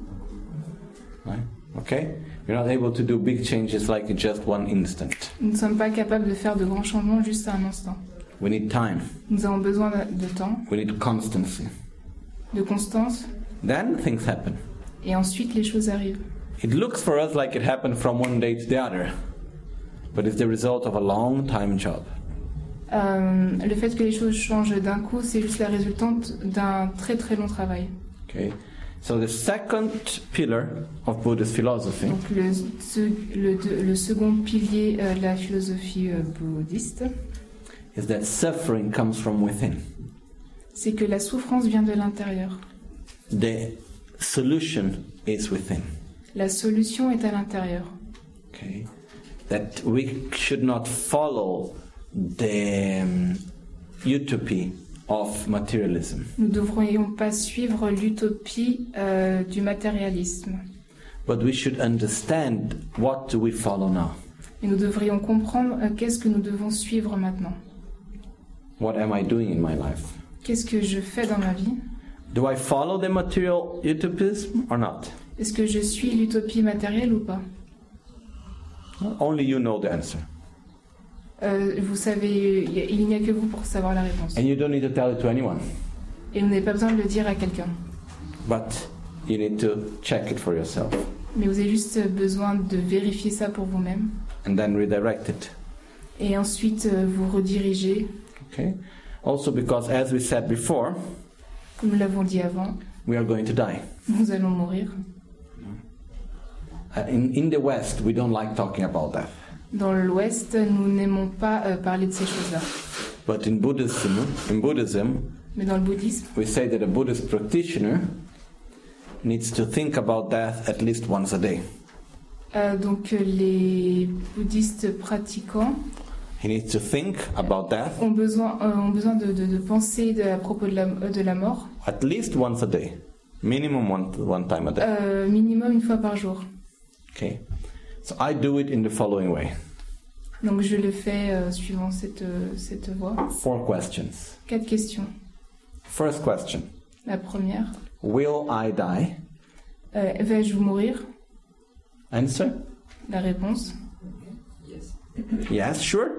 Right? Okay? We're not able to do big changes like in just one instant. Nous ne sommes pas capables de faire de grands changements juste à un instant. We need time. Nous avons besoin de de temps, We need constancy. de constance, Then things happen. et ensuite les choses arrivent. It looks for us like it happened from one day to the other, but it's the result of a long time job. Euh, le fait que les choses changent d'un coup, c'est juste la résultante d'un très très long travail. Okay? So the second pillar of Buddhist philosophy Donc le, ce- le, de- le second pilier euh, de la philosophie euh, bouddhiste, is that suffering comes from within. c'est que la souffrance vient de l'intérieur. The solution is within. La solution est à l'intérieur. Okay? That we should not follow the um, utopia of materialism, Nous ne devrions pas suivre l'utopie euh, du matérialisme, but we should understand what do we follow now. mais nous devrions comprendre euh, qu'est-ce que nous devons suivre maintenant. What am I doing in my life? Qu'est-ce que je fais dans ma vie? Do I follow the material utopism or not? Est-ce que je suis l'utopie matérielle ou pas? Only you know the answer. Euh, Vous savez, il y a- il n'y a que vous pour savoir la réponse. And you don't need to tell it to anyone, Et vous n'avez pas besoin de le dire à quelqu'un. but you need to check it for yourself Mais vous avez juste besoin de vérifier ça pour vous-même. and then redirect it. Et ensuite euh, vous rediriger, Okay? Also because as we said before, comme nous l'avons dit avant, we are going to die. nous allons mourir. Uh, in, in the West, we don't like talking about that. Dans l'Ouest, nous n'aimons pas euh, parler de ces choses-là. But in Buddhism, in Buddhism, Mais dans le bouddhisme, we say that a Buddhist practitioner needs to think about death at least once a day. euh, donc euh, les bouddhistes pratiquants He needs to think about death ont besoin, euh, ont besoin de, de, de penser de, à propos de la, euh, de la mort at least once a day, minimum one, one time a day. euh, minimum une fois par jour. Okay, so I do it in the following way. Donc je le fais euh, suivant cette, euh, cette voie. Four questions. Quatre questions. First question: La première, will I die? euh, vais-je mourir? Answer: La réponse, yes, sure.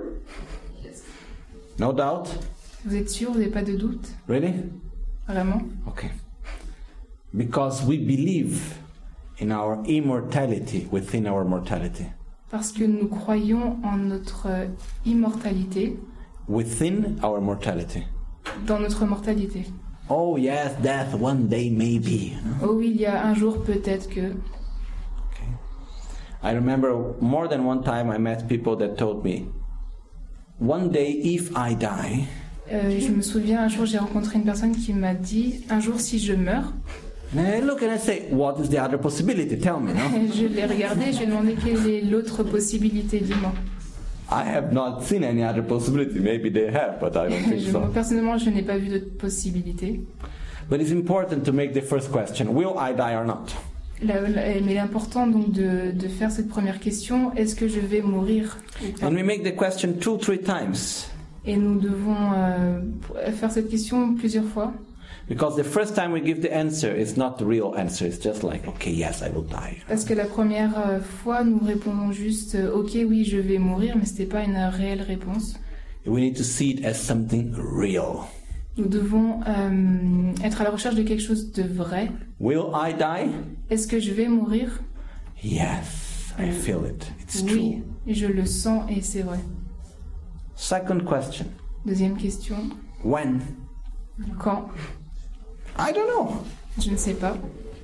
No doubt. vous êtes sûr, vous n'avez pas de doute? Really? Vraiment? Okay. Because we believe in our immortality within our mortality. Parce que nous croyons en notre euh, immortalité, Within our mortality. dans notre mortalité. Oh yes, death one day maybe. Oh oui, il y a un jour peut-être que... Okay. I remember more than one time I met people that told me, one day if I die, Euh, je me souviens, un jour, j'ai rencontré une personne qui m'a dit, un jour, si je meurs, and I look and I say, what is the other possibility? Tell me, no? je l'ai regardé, je lui ai demandé quelle est l'autre possibilité, dis-moi. I have not seen any other possibility. Maybe they have, but I don't think Je- moi, so. personnellement, je n'ai pas vu d'autre possibilité. But it's important to make the first question, will I die or not? La- la- mais l'important donc de, de faire cette première question, est-ce que je vais mourir ou pas? And we make the question two, three times. Et nous devons euh, faire cette question plusieurs fois. Because the first time we give the answer, it's not the real answer. It's just like, okay, yes, I will die. Parce que la première euh, fois, nous répondons juste euh, ok, oui, je vais mourir, mais c'était pas une réelle réponse. We need to see it as something real. Nous devons euh, être à la recherche de quelque chose de vrai. Will I die? Est-ce que je vais mourir? Yes, I feel it. It's Oui, true. je le sens et c'est vrai. Second question. Deuxième question. When? Quand? I don't know. Je ne sais pas.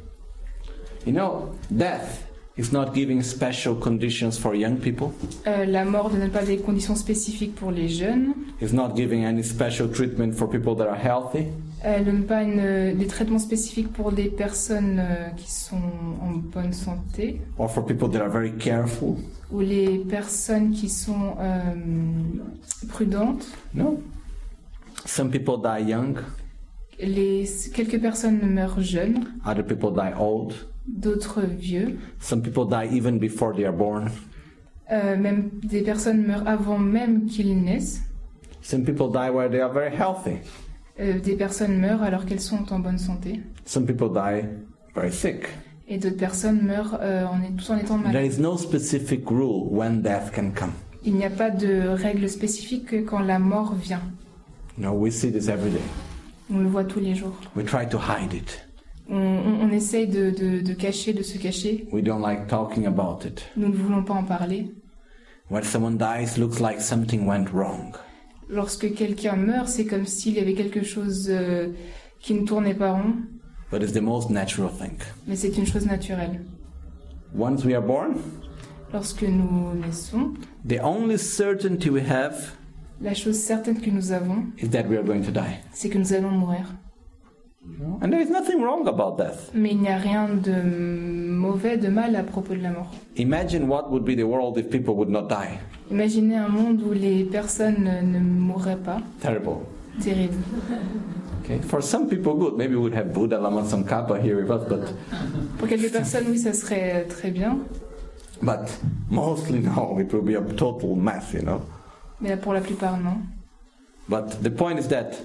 You know, death is not giving special conditions for young people. Euh, la mort ne donne pas des conditions spécifiques pour les jeunes. It's not giving any special treatment for people that are healthy. Elle ne donne pas une, des traitements spécifiques pour des personnes euh, qui sont en bonne santé Or for people that are very careful. ou les personnes qui sont euh, prudentes. No. Some people die young, Les, quelques personnes meurent jeunes, other people die old. d'autres vieux. Some people die even before they are born. Euh, même des personnes meurent avant même qu'ils naissent. Some people die where they are very healthy. Euh, des personnes meurent alors qu'elles sont en bonne santé. Some people die very sick. Et d'autres personnes meurent euh, en, tout en étant There malades. is no specific rule when death can come. Il n'y a pas de règle spécifique que quand la mort vient. No, we see this every day. On le voit tous les jours. We try to hide it. On, on, on essaye de, de, de cacher, de se cacher. We don't like talking about it. Nous ne voulons pas en parler. When someone dies, looks like something went wrong. Lorsque quelqu'un meurt, c'est comme s'il y avait quelque chose euh, qui ne tournait pas rond, But it's the most natural thing. mais c'est une chose naturelle. Once we are born, Lorsque nous naissons, the only certainty we have la chose certaine que nous avons, is that we are going to die. c'est que nous allons mourir. And there is nothing wrong about death. Mais il n'y a rien de mauvais, de mal à propos de la mort. Imagine what would be the world if people would not die. Imaginez un monde où les personnes ne mourraient pas. Terrible. Terrible. Okay. For some people, good. Maybe we would have Buddha Lama Tsongkhapa here with us, but Pour quelques personnes, oui, ça serait très bien. but mostly no. It will be a total mess, you know. Mais pour la plupart, non. But the point is that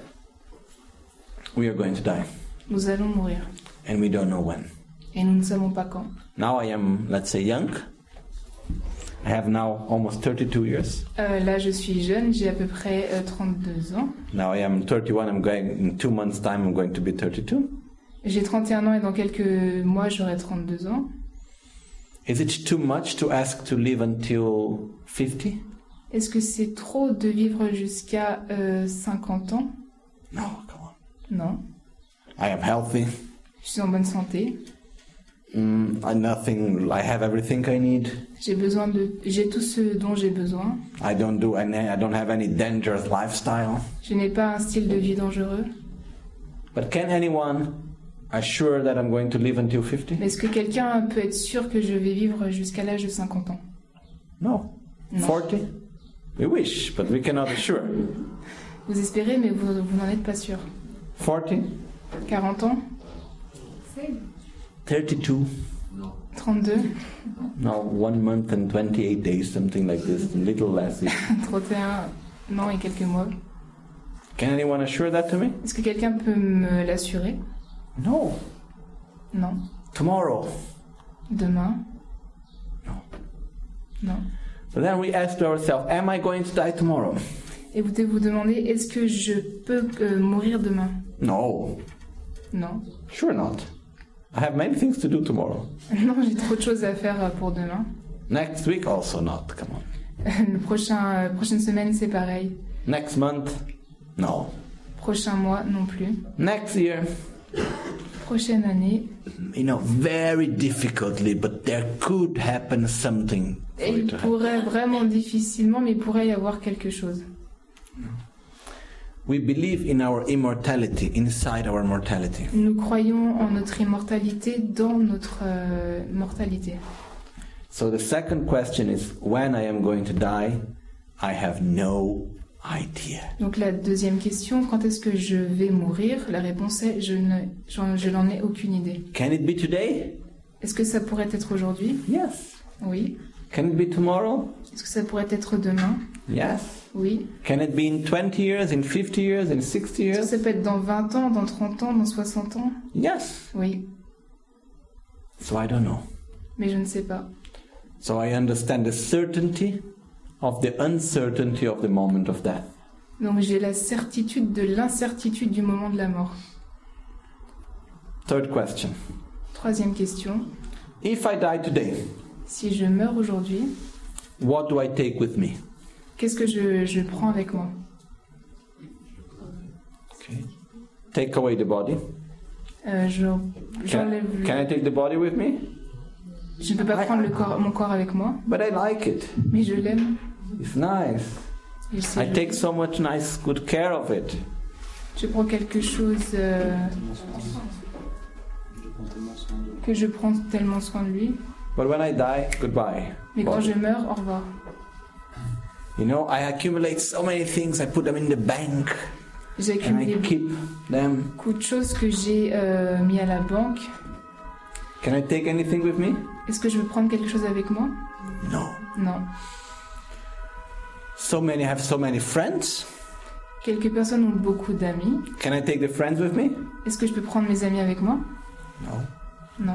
we are going to die, Nous allons mourir. and we don't know when. Et nous ne savons pas quand. Now I am, let's say, young. I have now almost thirty-two years. Euh, là, je suis jeune, j'ai à peu près euh, trente-deux ans. Now I am thirty-one. I'm going in two months' time. I'm going to be thirty-two. J'ai trente et un ans et dans quelques mois, j'aurai trente-deux ans. Is it too much to ask to live until fifty? Est-ce que c'est trop de vivre jusqu'à euh, cinquante ans? No, come on. Non. I am healthy. Je suis en bonne santé. Mm, I nothing. I have everything I need. J'ai besoin de, j'ai tout ce dont j'ai besoin. I don't do any. I don't have any dangerous lifestyle. Je n'ai pas un style de vie dangereux. But can anyone assure that I'm going to live until fifty? Mais est-ce que quelqu'un peut être sûr que je vais vivre jusqu'à l'âge de cinquante ans? No. Non. forty? We wish, but we cannot assure. Vous espérez, mais vous, vous n'en êtes pas sûr. forty? quarante ans? thirty-two? trente-deux? No, one month and twenty-eight days, something like this, a little less. trente et un ans et quelques mois? Can anyone assure that to me? Est-ce que quelqu'un peut me l'assurer? No. Non. Tomorrow? Demain? No. Non. But then we ask ourselves, am I going to die tomorrow? Et vous devez vous demander, est-ce que je peux euh, mourir demain? No. Non. Sure not. I have many things to do tomorrow. Non, j'ai trop de choses à faire euh, pour demain. Next week also not, come on. Le prochain, euh, prochaine semaine, c'est pareil. Next month? No. Prochain mois, non plus. Next year? Prochaine année. You know, very difficultly, but there could happen something for Et it il to happen. pourrait vraiment difficilement, mais il pourrait y avoir quelque chose. We believe in our immortality, inside our mortality. Nous croyons en notre immortalité dans notre euh, mortalité. So the second question is, when I am going to die, I have no idea. Donc la deuxième question, quand est-ce que je vais mourir? La réponse est, je ne, j'en- je n'en ai aucune idée. Can it be today? Est-ce que ça pourrait être aujourd'hui? Yes. Oui. Can it be tomorrow? Est-ce que ça pourrait être demain? Yes. Oui. Can it be in twenty years, in fifty years, in sixty Est-ce que years? ça peut être dans vingt ans, dans trente ans, dans soixante ans? Yes. Oui. So I don't know. Mais je ne sais pas. So I understand the certainty of the uncertainty of the moment of death. Donc j'ai la certitude de l'incertitude du moment de la mort. Third question. Troisième question. If I die today, Si je meurs aujourd'hui, what do I take with me? qu'est-ce que je, je prends avec moi? Okay. Take away the body. Euh, je- Can, J'enlève le- can I take the body with me? Je ne peux pas prendre le corps, mon corps avec moi, But I like it. mais je l'aime. It's nice. Et je, sais- I take so much nice, good care of it. je prends quelque chose euh, Tellement soin de- Je prends tellement soin de. que je prends tellement soin de lui. But when I die, goodbye. Mais quand Body. je meurs, au revoir. You know, I accumulate so many things. I put them in the bank J'ai and I accumulé keep them. beaucoup de choses que j'ai euh, mis à la banque. Can I take anything with me? Est-ce que je veux prendre quelque chose avec moi? No. Non. So many have so many friends. Quelques personnes ont beaucoup d'amis. Can I take the friends with me? Est-ce que je peux prendre mes amis avec moi? No. Non.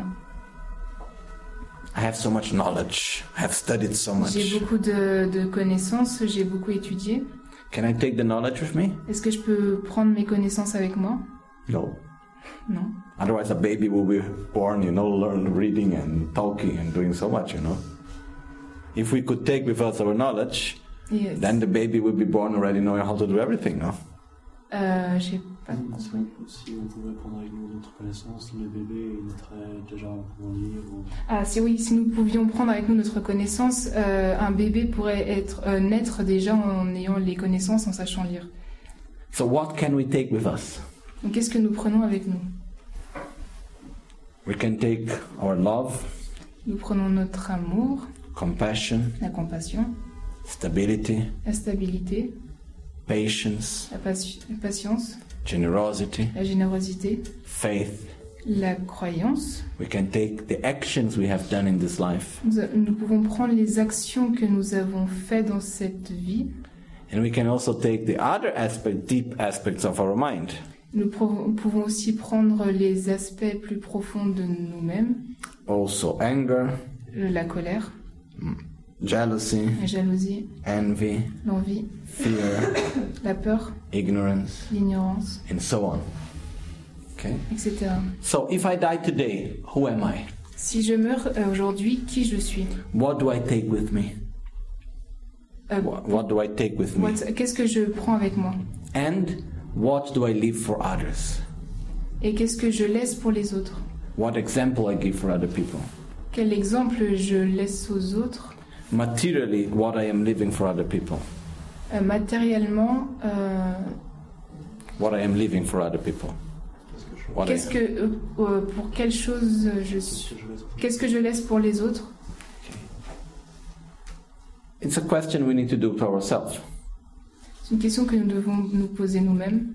I have so much knowledge. I have studied so J'ai much. beaucoup de, de connaissances, j'ai beaucoup étudié. Can I take the knowledge with me? Est-ce que je peux prendre mes connaissances avec moi? No. Non. Otherwise, a baby will be born, you know, learn reading and talking and doing so much, you know. If we could take with us our knowledge, Et, euh, then the baby would be born already knowing how to do everything, no? euh, j'ai pas Si, compris. si on pouvait prendre avec nous notre connaissance, le bébé il naîtrait déjà pour lire ou. Ah, si oui, si nous pouvions prendre avec nous notre connaissance, euh, un bébé pourrait être euh, naître déjà en ayant les connaissances, en sachant lire. So what can we take with us? Donc, qu'est-ce que nous prenons avec nous? We can take our love, Nous prenons notre amour, compassion, la compassion, stability, la stabilité, patience, la, pati- la patience, generosity, la générosité, faith. la croyance. We can take the actions we have done in this life, Nous, a- nous pouvons prendre les actions que nous avons faites dans cette vie. and we can also take the other aspect, deep aspects of our mind. Nous pro- pouvons aussi prendre les aspects plus profonds de nous-mêmes, Also anger, la colère, jealousy, la jalousie, envy, l'envie, fear, la peur, ignorance, l'ignorance, and so on. Okay? et cetera. So if I die today, who am I? Si je meurs euh, aujourd'hui, qui je suis? What do I take with me? Euh, What, what do I take with me? what- Qu'est-ce que je prends avec moi? And what do I leave for others? Et qu'est-ce que je laisse pour les autres? What example I give for other people? Quel exemple je laisse aux autres? Materially, what I am living for other people. Euh, matériellement, euh, What I am living for other people. What I qu'est-ce am. que, euh, euh, pour quelle chose je suis? Que je laisse pour- Qu'est-ce que je laisse pour les autres? It's a question we need to do to ourselves. C'est une question que nous devons nous poser nous-mêmes.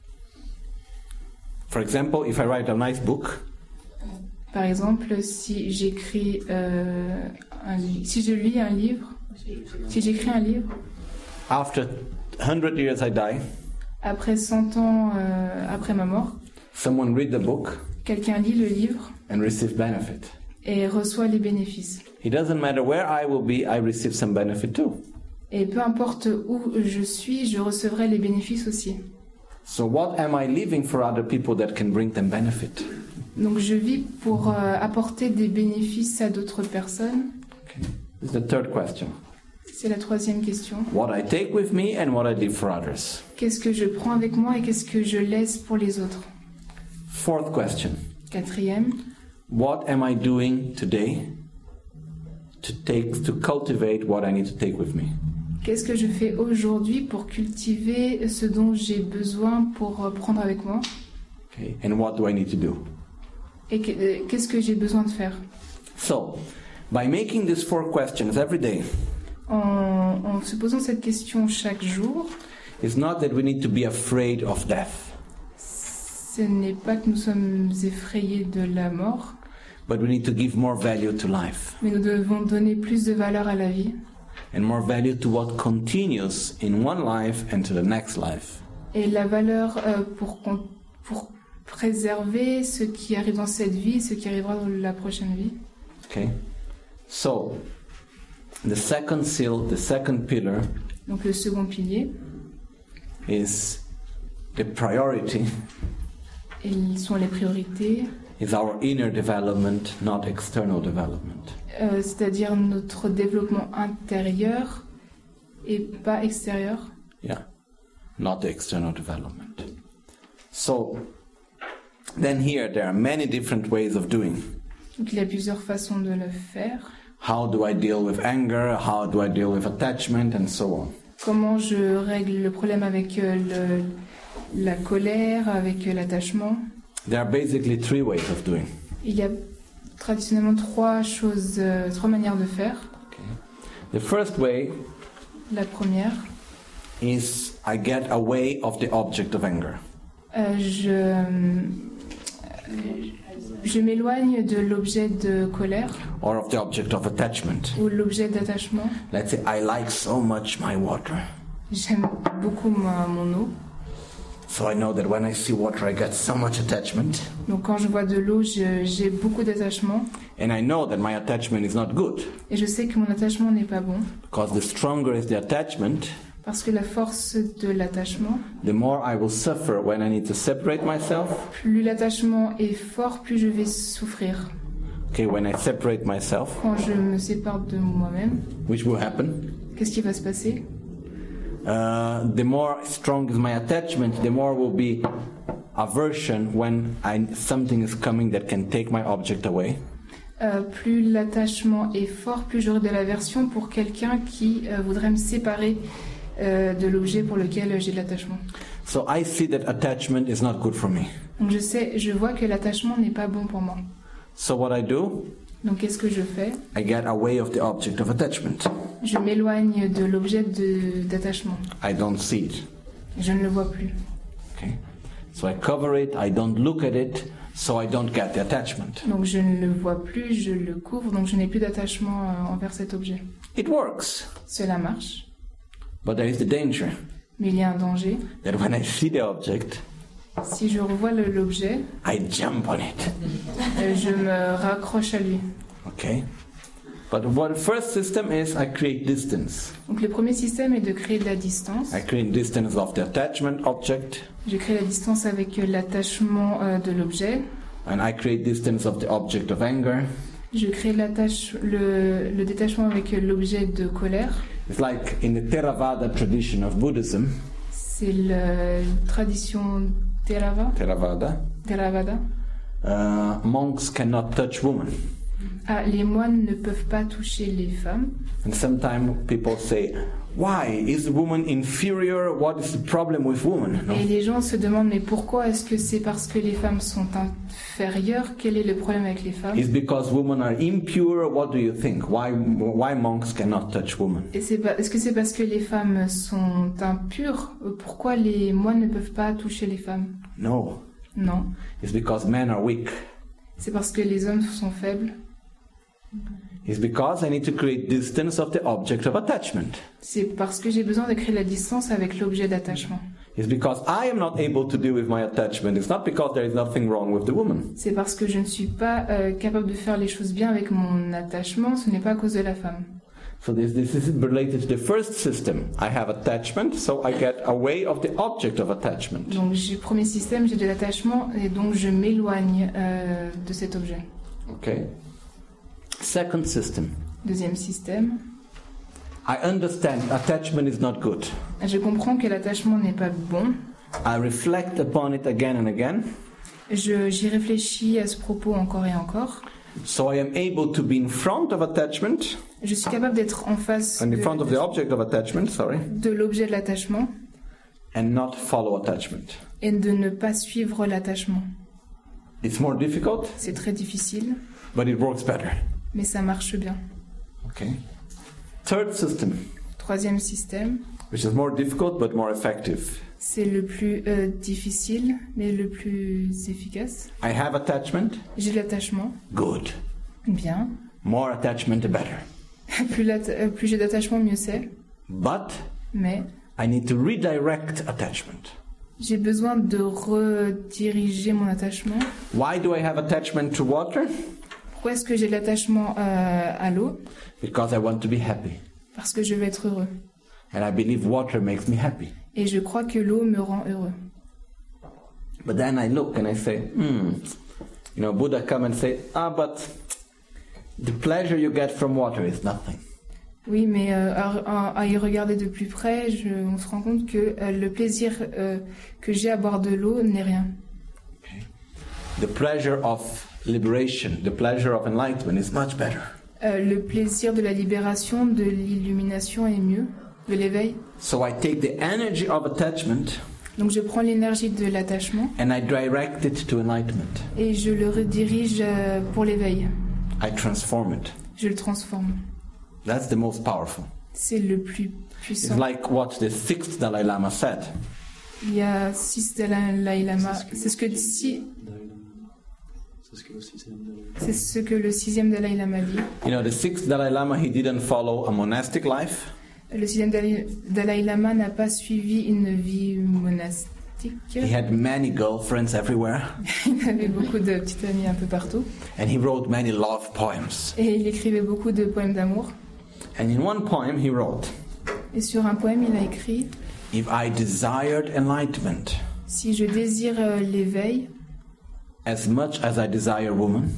For example, if I write a nice book, Par exemple, si j'écris euh, un li- si je lis un livre, si j'écris un livre, after one hundred years I die, après cent ans euh, après ma mort, someone read the book quelqu'un lit le livre and receive benefit. et reçoit les bénéfices. It doesn't matter where I will be, I receive some benefit too. Et peu importe où je suis, je recevrai les bénéfices aussi. So what am I leaving for other people that can bring them benefit? Donc je vis pour euh, apporter des bénéfices à d'autres personnes. Okay. This is the third question. C'est la troisième question. What I take with me and what I leave for others. Qu'est-ce que je prends avec moi et qu'est-ce que je laisse pour les autres? Fourth question. Quatrième, What am I doing today to take to cultivate what I need to take with me? qu'est-ce que je fais aujourd'hui pour cultiver ce dont j'ai besoin pour euh, prendre avec moi? Okay. And what do I need to do? Et que- euh, qu'est-ce que j'ai besoin de faire? So, by making these four questions every day, En, en se posant cette question chaque jour, it's not that we need to be afraid of death, ce n'est pas que nous sommes effrayés de la mort, but we need to give more value to life mais nous devons donner plus de valeur à la vie and more value to what continues in one life and to the next life. et la valeur euh, pour, qu'on- pour préserver ce qui arrive dans cette vie, ce qui arrivera dans la prochaine vie. Okay? So, the second seal, the second pillar Donc le second pilier, is the priority et ils sont les priorités, is our inner development, not external development. euh, c'est-à-dire notre développement intérieur et pas extérieur. Yeah, not the external development. So, then here there are many different ways of doing. Donc il y a plusieurs façons de le faire. How do I deal with anger? How do I deal with attachment? And so on. Comment je règle le problème avec euh, le, la colère, avec euh, l'attachement. There are basically three ways of doing. Il y a traditionnellement trois choses, euh, trois manières de faire. The first way La première, is I get away of the object of anger. euh, je, euh, je m'éloigne de l'objet de colère Or of the object of attachment. ou l'objet d'attachement. Let's say I like so much my water. J'aime beaucoup ma- mon eau. So I know that when I see water I get so much attachment. Donc quand je vois de l'eau, je- j'ai beaucoup d'attachement. And I know that my attachment is not good. Et je sais que mon attachement n'est pas bon. Because the stronger is the attachment, Parce que la force de l'attachement, the more I will suffer when I need to separate myself. plus l'attachement est fort, plus je vais souffrir. Okay, when I separate myself, Quand je me sépare de moi-même, which will happen, qu'est-ce qui va se passer? uh, the more strong is my attachment, the more will be aversion when I, something is coming that can take my object away. Euh, plus l'attachement est fort, plus j'aurai de l'aversion pour quelqu'un qui euh, voudrait me séparer euh, de l'objet pour lequel j'ai de l'attachement. So I see that attachment is not good for me. Donc je sais, je vois que l'attachement n'est pas bon pour moi. So what I do, Donc qu'est-ce que je fais? I get away of the object of attachment. Je m'éloigne de l'objet de- d'attachement. I don't see it. Je ne le vois plus. Okay? So I cover it, I don't look at it, so I don't get the attachment. Donc je ne le vois plus, je le couvre, donc je n'ai plus d'attachement euh, envers cet objet. It works, Cela marche, but there is the danger mais il y a un danger. that when I see the object, Si je revois le- l'objet, I jump on it. euh, je me raccroche à lui. Okay? But what the first system is, I create distance. Donc le premier système est de créer de la distance. I create distance of the attachment object, Je crée la distance avec euh, l'attachement euh, de l'objet. and I create distance of the object of anger. Je crée l'attache, le, le détachement avec euh, l'objet de colère. It's like in the Theravada tradition of Buddhism, C'est la tradition Theravada. Theravada, Theravada. uh, monks cannot touch women. Ah, les moines ne peuvent pas toucher les femmes. And sometimes people say, why? Is the woman inferior? What is the problem with women? No? Et les gens se demandent, mais pourquoi est-ce que c'est parce que les femmes sont inférieures? Quel est le problème avec les femmes? Is because women are impure? What do you think? Why, why monks cannot touch women? Et c'est pas, est-ce que c'est parce que les femmes sont impures? Pourquoi les moines ne peuvent pas toucher les femmes? No. Non. It's because men are weak. C'est parce que les hommes sont faibles. It's because I need to create distance of the object of attachment. C'est parce que j'ai besoin de créer la distance avec l'objet d'attachement. It's because I am not able to deal with my attachment. It's not because there is nothing wrong with the woman. C'est parce que je ne suis pas euh, capable de faire les choses bien avec mon attachement, ce n'est pas à cause de la femme. So this, this is related to the first system. I have attachment, so I get away of the object of attachment. Donc, j'ai premier système, j'ai de l'attachement et donc je m'éloigne euh, de cet objet. Okay? Second system. Deuxième système, I understand attachment is not good. je comprends que l'attachement n'est pas bon. I reflect upon it again and again, Je, j'y réfléchis à ce propos encore et encore. so I am able to be in front of attachment, Je suis capable d'être en face in de, front of the object of attachment, sorry, de l'objet de l'attachement and not follow attachment. et de ne pas suivre l'attachement. It's more difficult, C'est très difficile, but it works better. mais ça marche bien. Okay. Third system, Troisième système, which is more difficult but more effective. c'est le plus euh, difficile, mais le plus efficace. I have attachment, J'ai de l'attachement, good. bien. More attachment, the better. Plus, l'atta- euh, plus j'ai d'attachement, mieux c'est. But Mais I need to redirect attachment. j'ai besoin de rediriger mon attachement. Why do I have attachment to water? Pourquoi est-ce que j'ai de l'attachement euh, à l'eau? Because I want to be happy. Parce que je veux être heureux. And I believe water makes me happy. Et je crois que l'eau me rend heureux. But then I look and I say, hmm, you know, Buddha come and say, ah, but the pleasure you get from water is nothing. Oui, mais euh, à, à- à y regarder de plus près, je, on se rend compte que euh, le plaisir euh, que j'ai à boire de l'eau n'est rien. The pleasure of liberation, the pleasure of enlightenment is much better. Euh, le plaisir de la libération, de l'illumination est mieux, de l'éveil. So I take the energy of attachment Donc je prends l'énergie de l'attachement and I direct it to enlightenment. et je le redirige euh, pour l'éveil. I transform it. Je le transforme. That's the most powerful. C'est le plus It's puissant. like what the sixth Dalai Lama said. Il y a six Dalai Lama. C'est ce que si, Dalai Lama. C'est ce que le sixième Dalai Lama. c'est ce que le sixième Dalai Lama dit. You know, the sixth Dalai Lama, he didn't follow a monastic life. Le sixième Dalai, Dalai Lama n'a pas suivi une vie monastique. He had many girlfriends everywhere. Il avait beaucoup de petites amies un peu partout. And he wrote many love poems. Et il écrivait beaucoup de poèmes d'amour. And in one poem he wrote, Et sur un poème, il a écrit if I desired enlightenment « Si je désire euh, l'éveil, as much as I desire woman,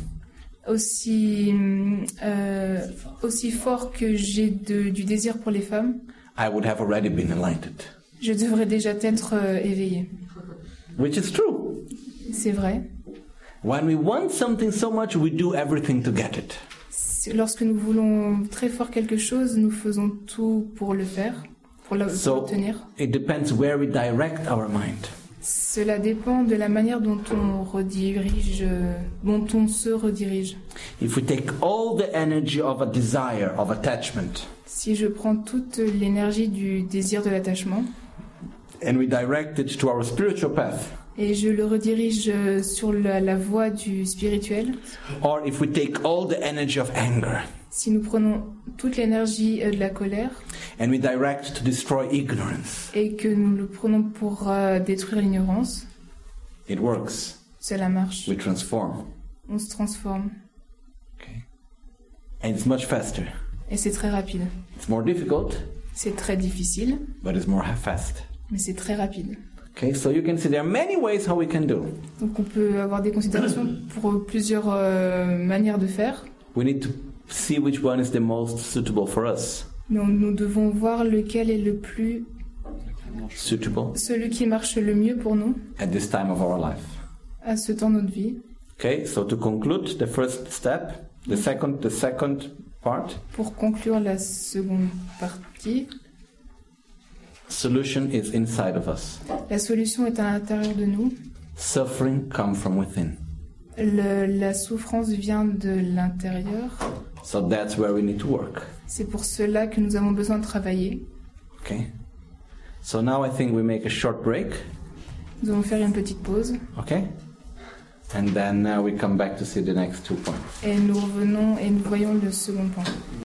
aussi, euh, aussi fort que j'ai de- du désir pour les femmes, I would have already been enlightened. je devrais déjà être euh, éveillé. » Which is true. C'est vrai. When we want something so much, we do everything to get it. C'est- Lorsque nous voulons très fort quelque chose, nous faisons tout pour le faire, pour la- pour So l'obtenir. it depends where we direct our mind. Cela dépend de la manière dont on redirige, euh, dont on se redirige. If we take all the energy of a desire, of attachment, Si je prends toute l'énergie du désir de l'attachement and we direct it to our spiritual path, et je le redirige euh, sur la, la voie du spirituel, or if we take all the energy of anger si nous prenons toute l'énergie euh, de la colère and we direct to destroy ignorance, et que nous le prenons pour euh, détruire l'ignorance, it works. cela marche. We transform. On se transforme Okay? And it's much faster. et c'est très rapide. It's more difficult, C'est très difficile, but it's more fast. mais c'est très rapide. Okay, so you can see there are many ways how we can do. Donc on peut avoir des considérations pour plusieurs euh, manières de faire, We need to see which one is the most suitable for us. mais on- nous devons voir lequel est le plus, Suitable celui qui marche le mieux pour nous at this time of our life. à ce temps de notre vie. Okay, so to conclude the first step, the second, the second part, Pour conclure la seconde partie, solution is inside of us. la solution est à l'intérieur de nous. Suffering come from within. Le- la souffrance vient de l'intérieur. So that's where we need to work. C'est pour cela que nous avons besoin de travailler. Okay. So now I think we make a short break. Nous allons faire une petite pause Okay. And then uh, we come back to see the next two points. et nous revenons et nous voyons le second point.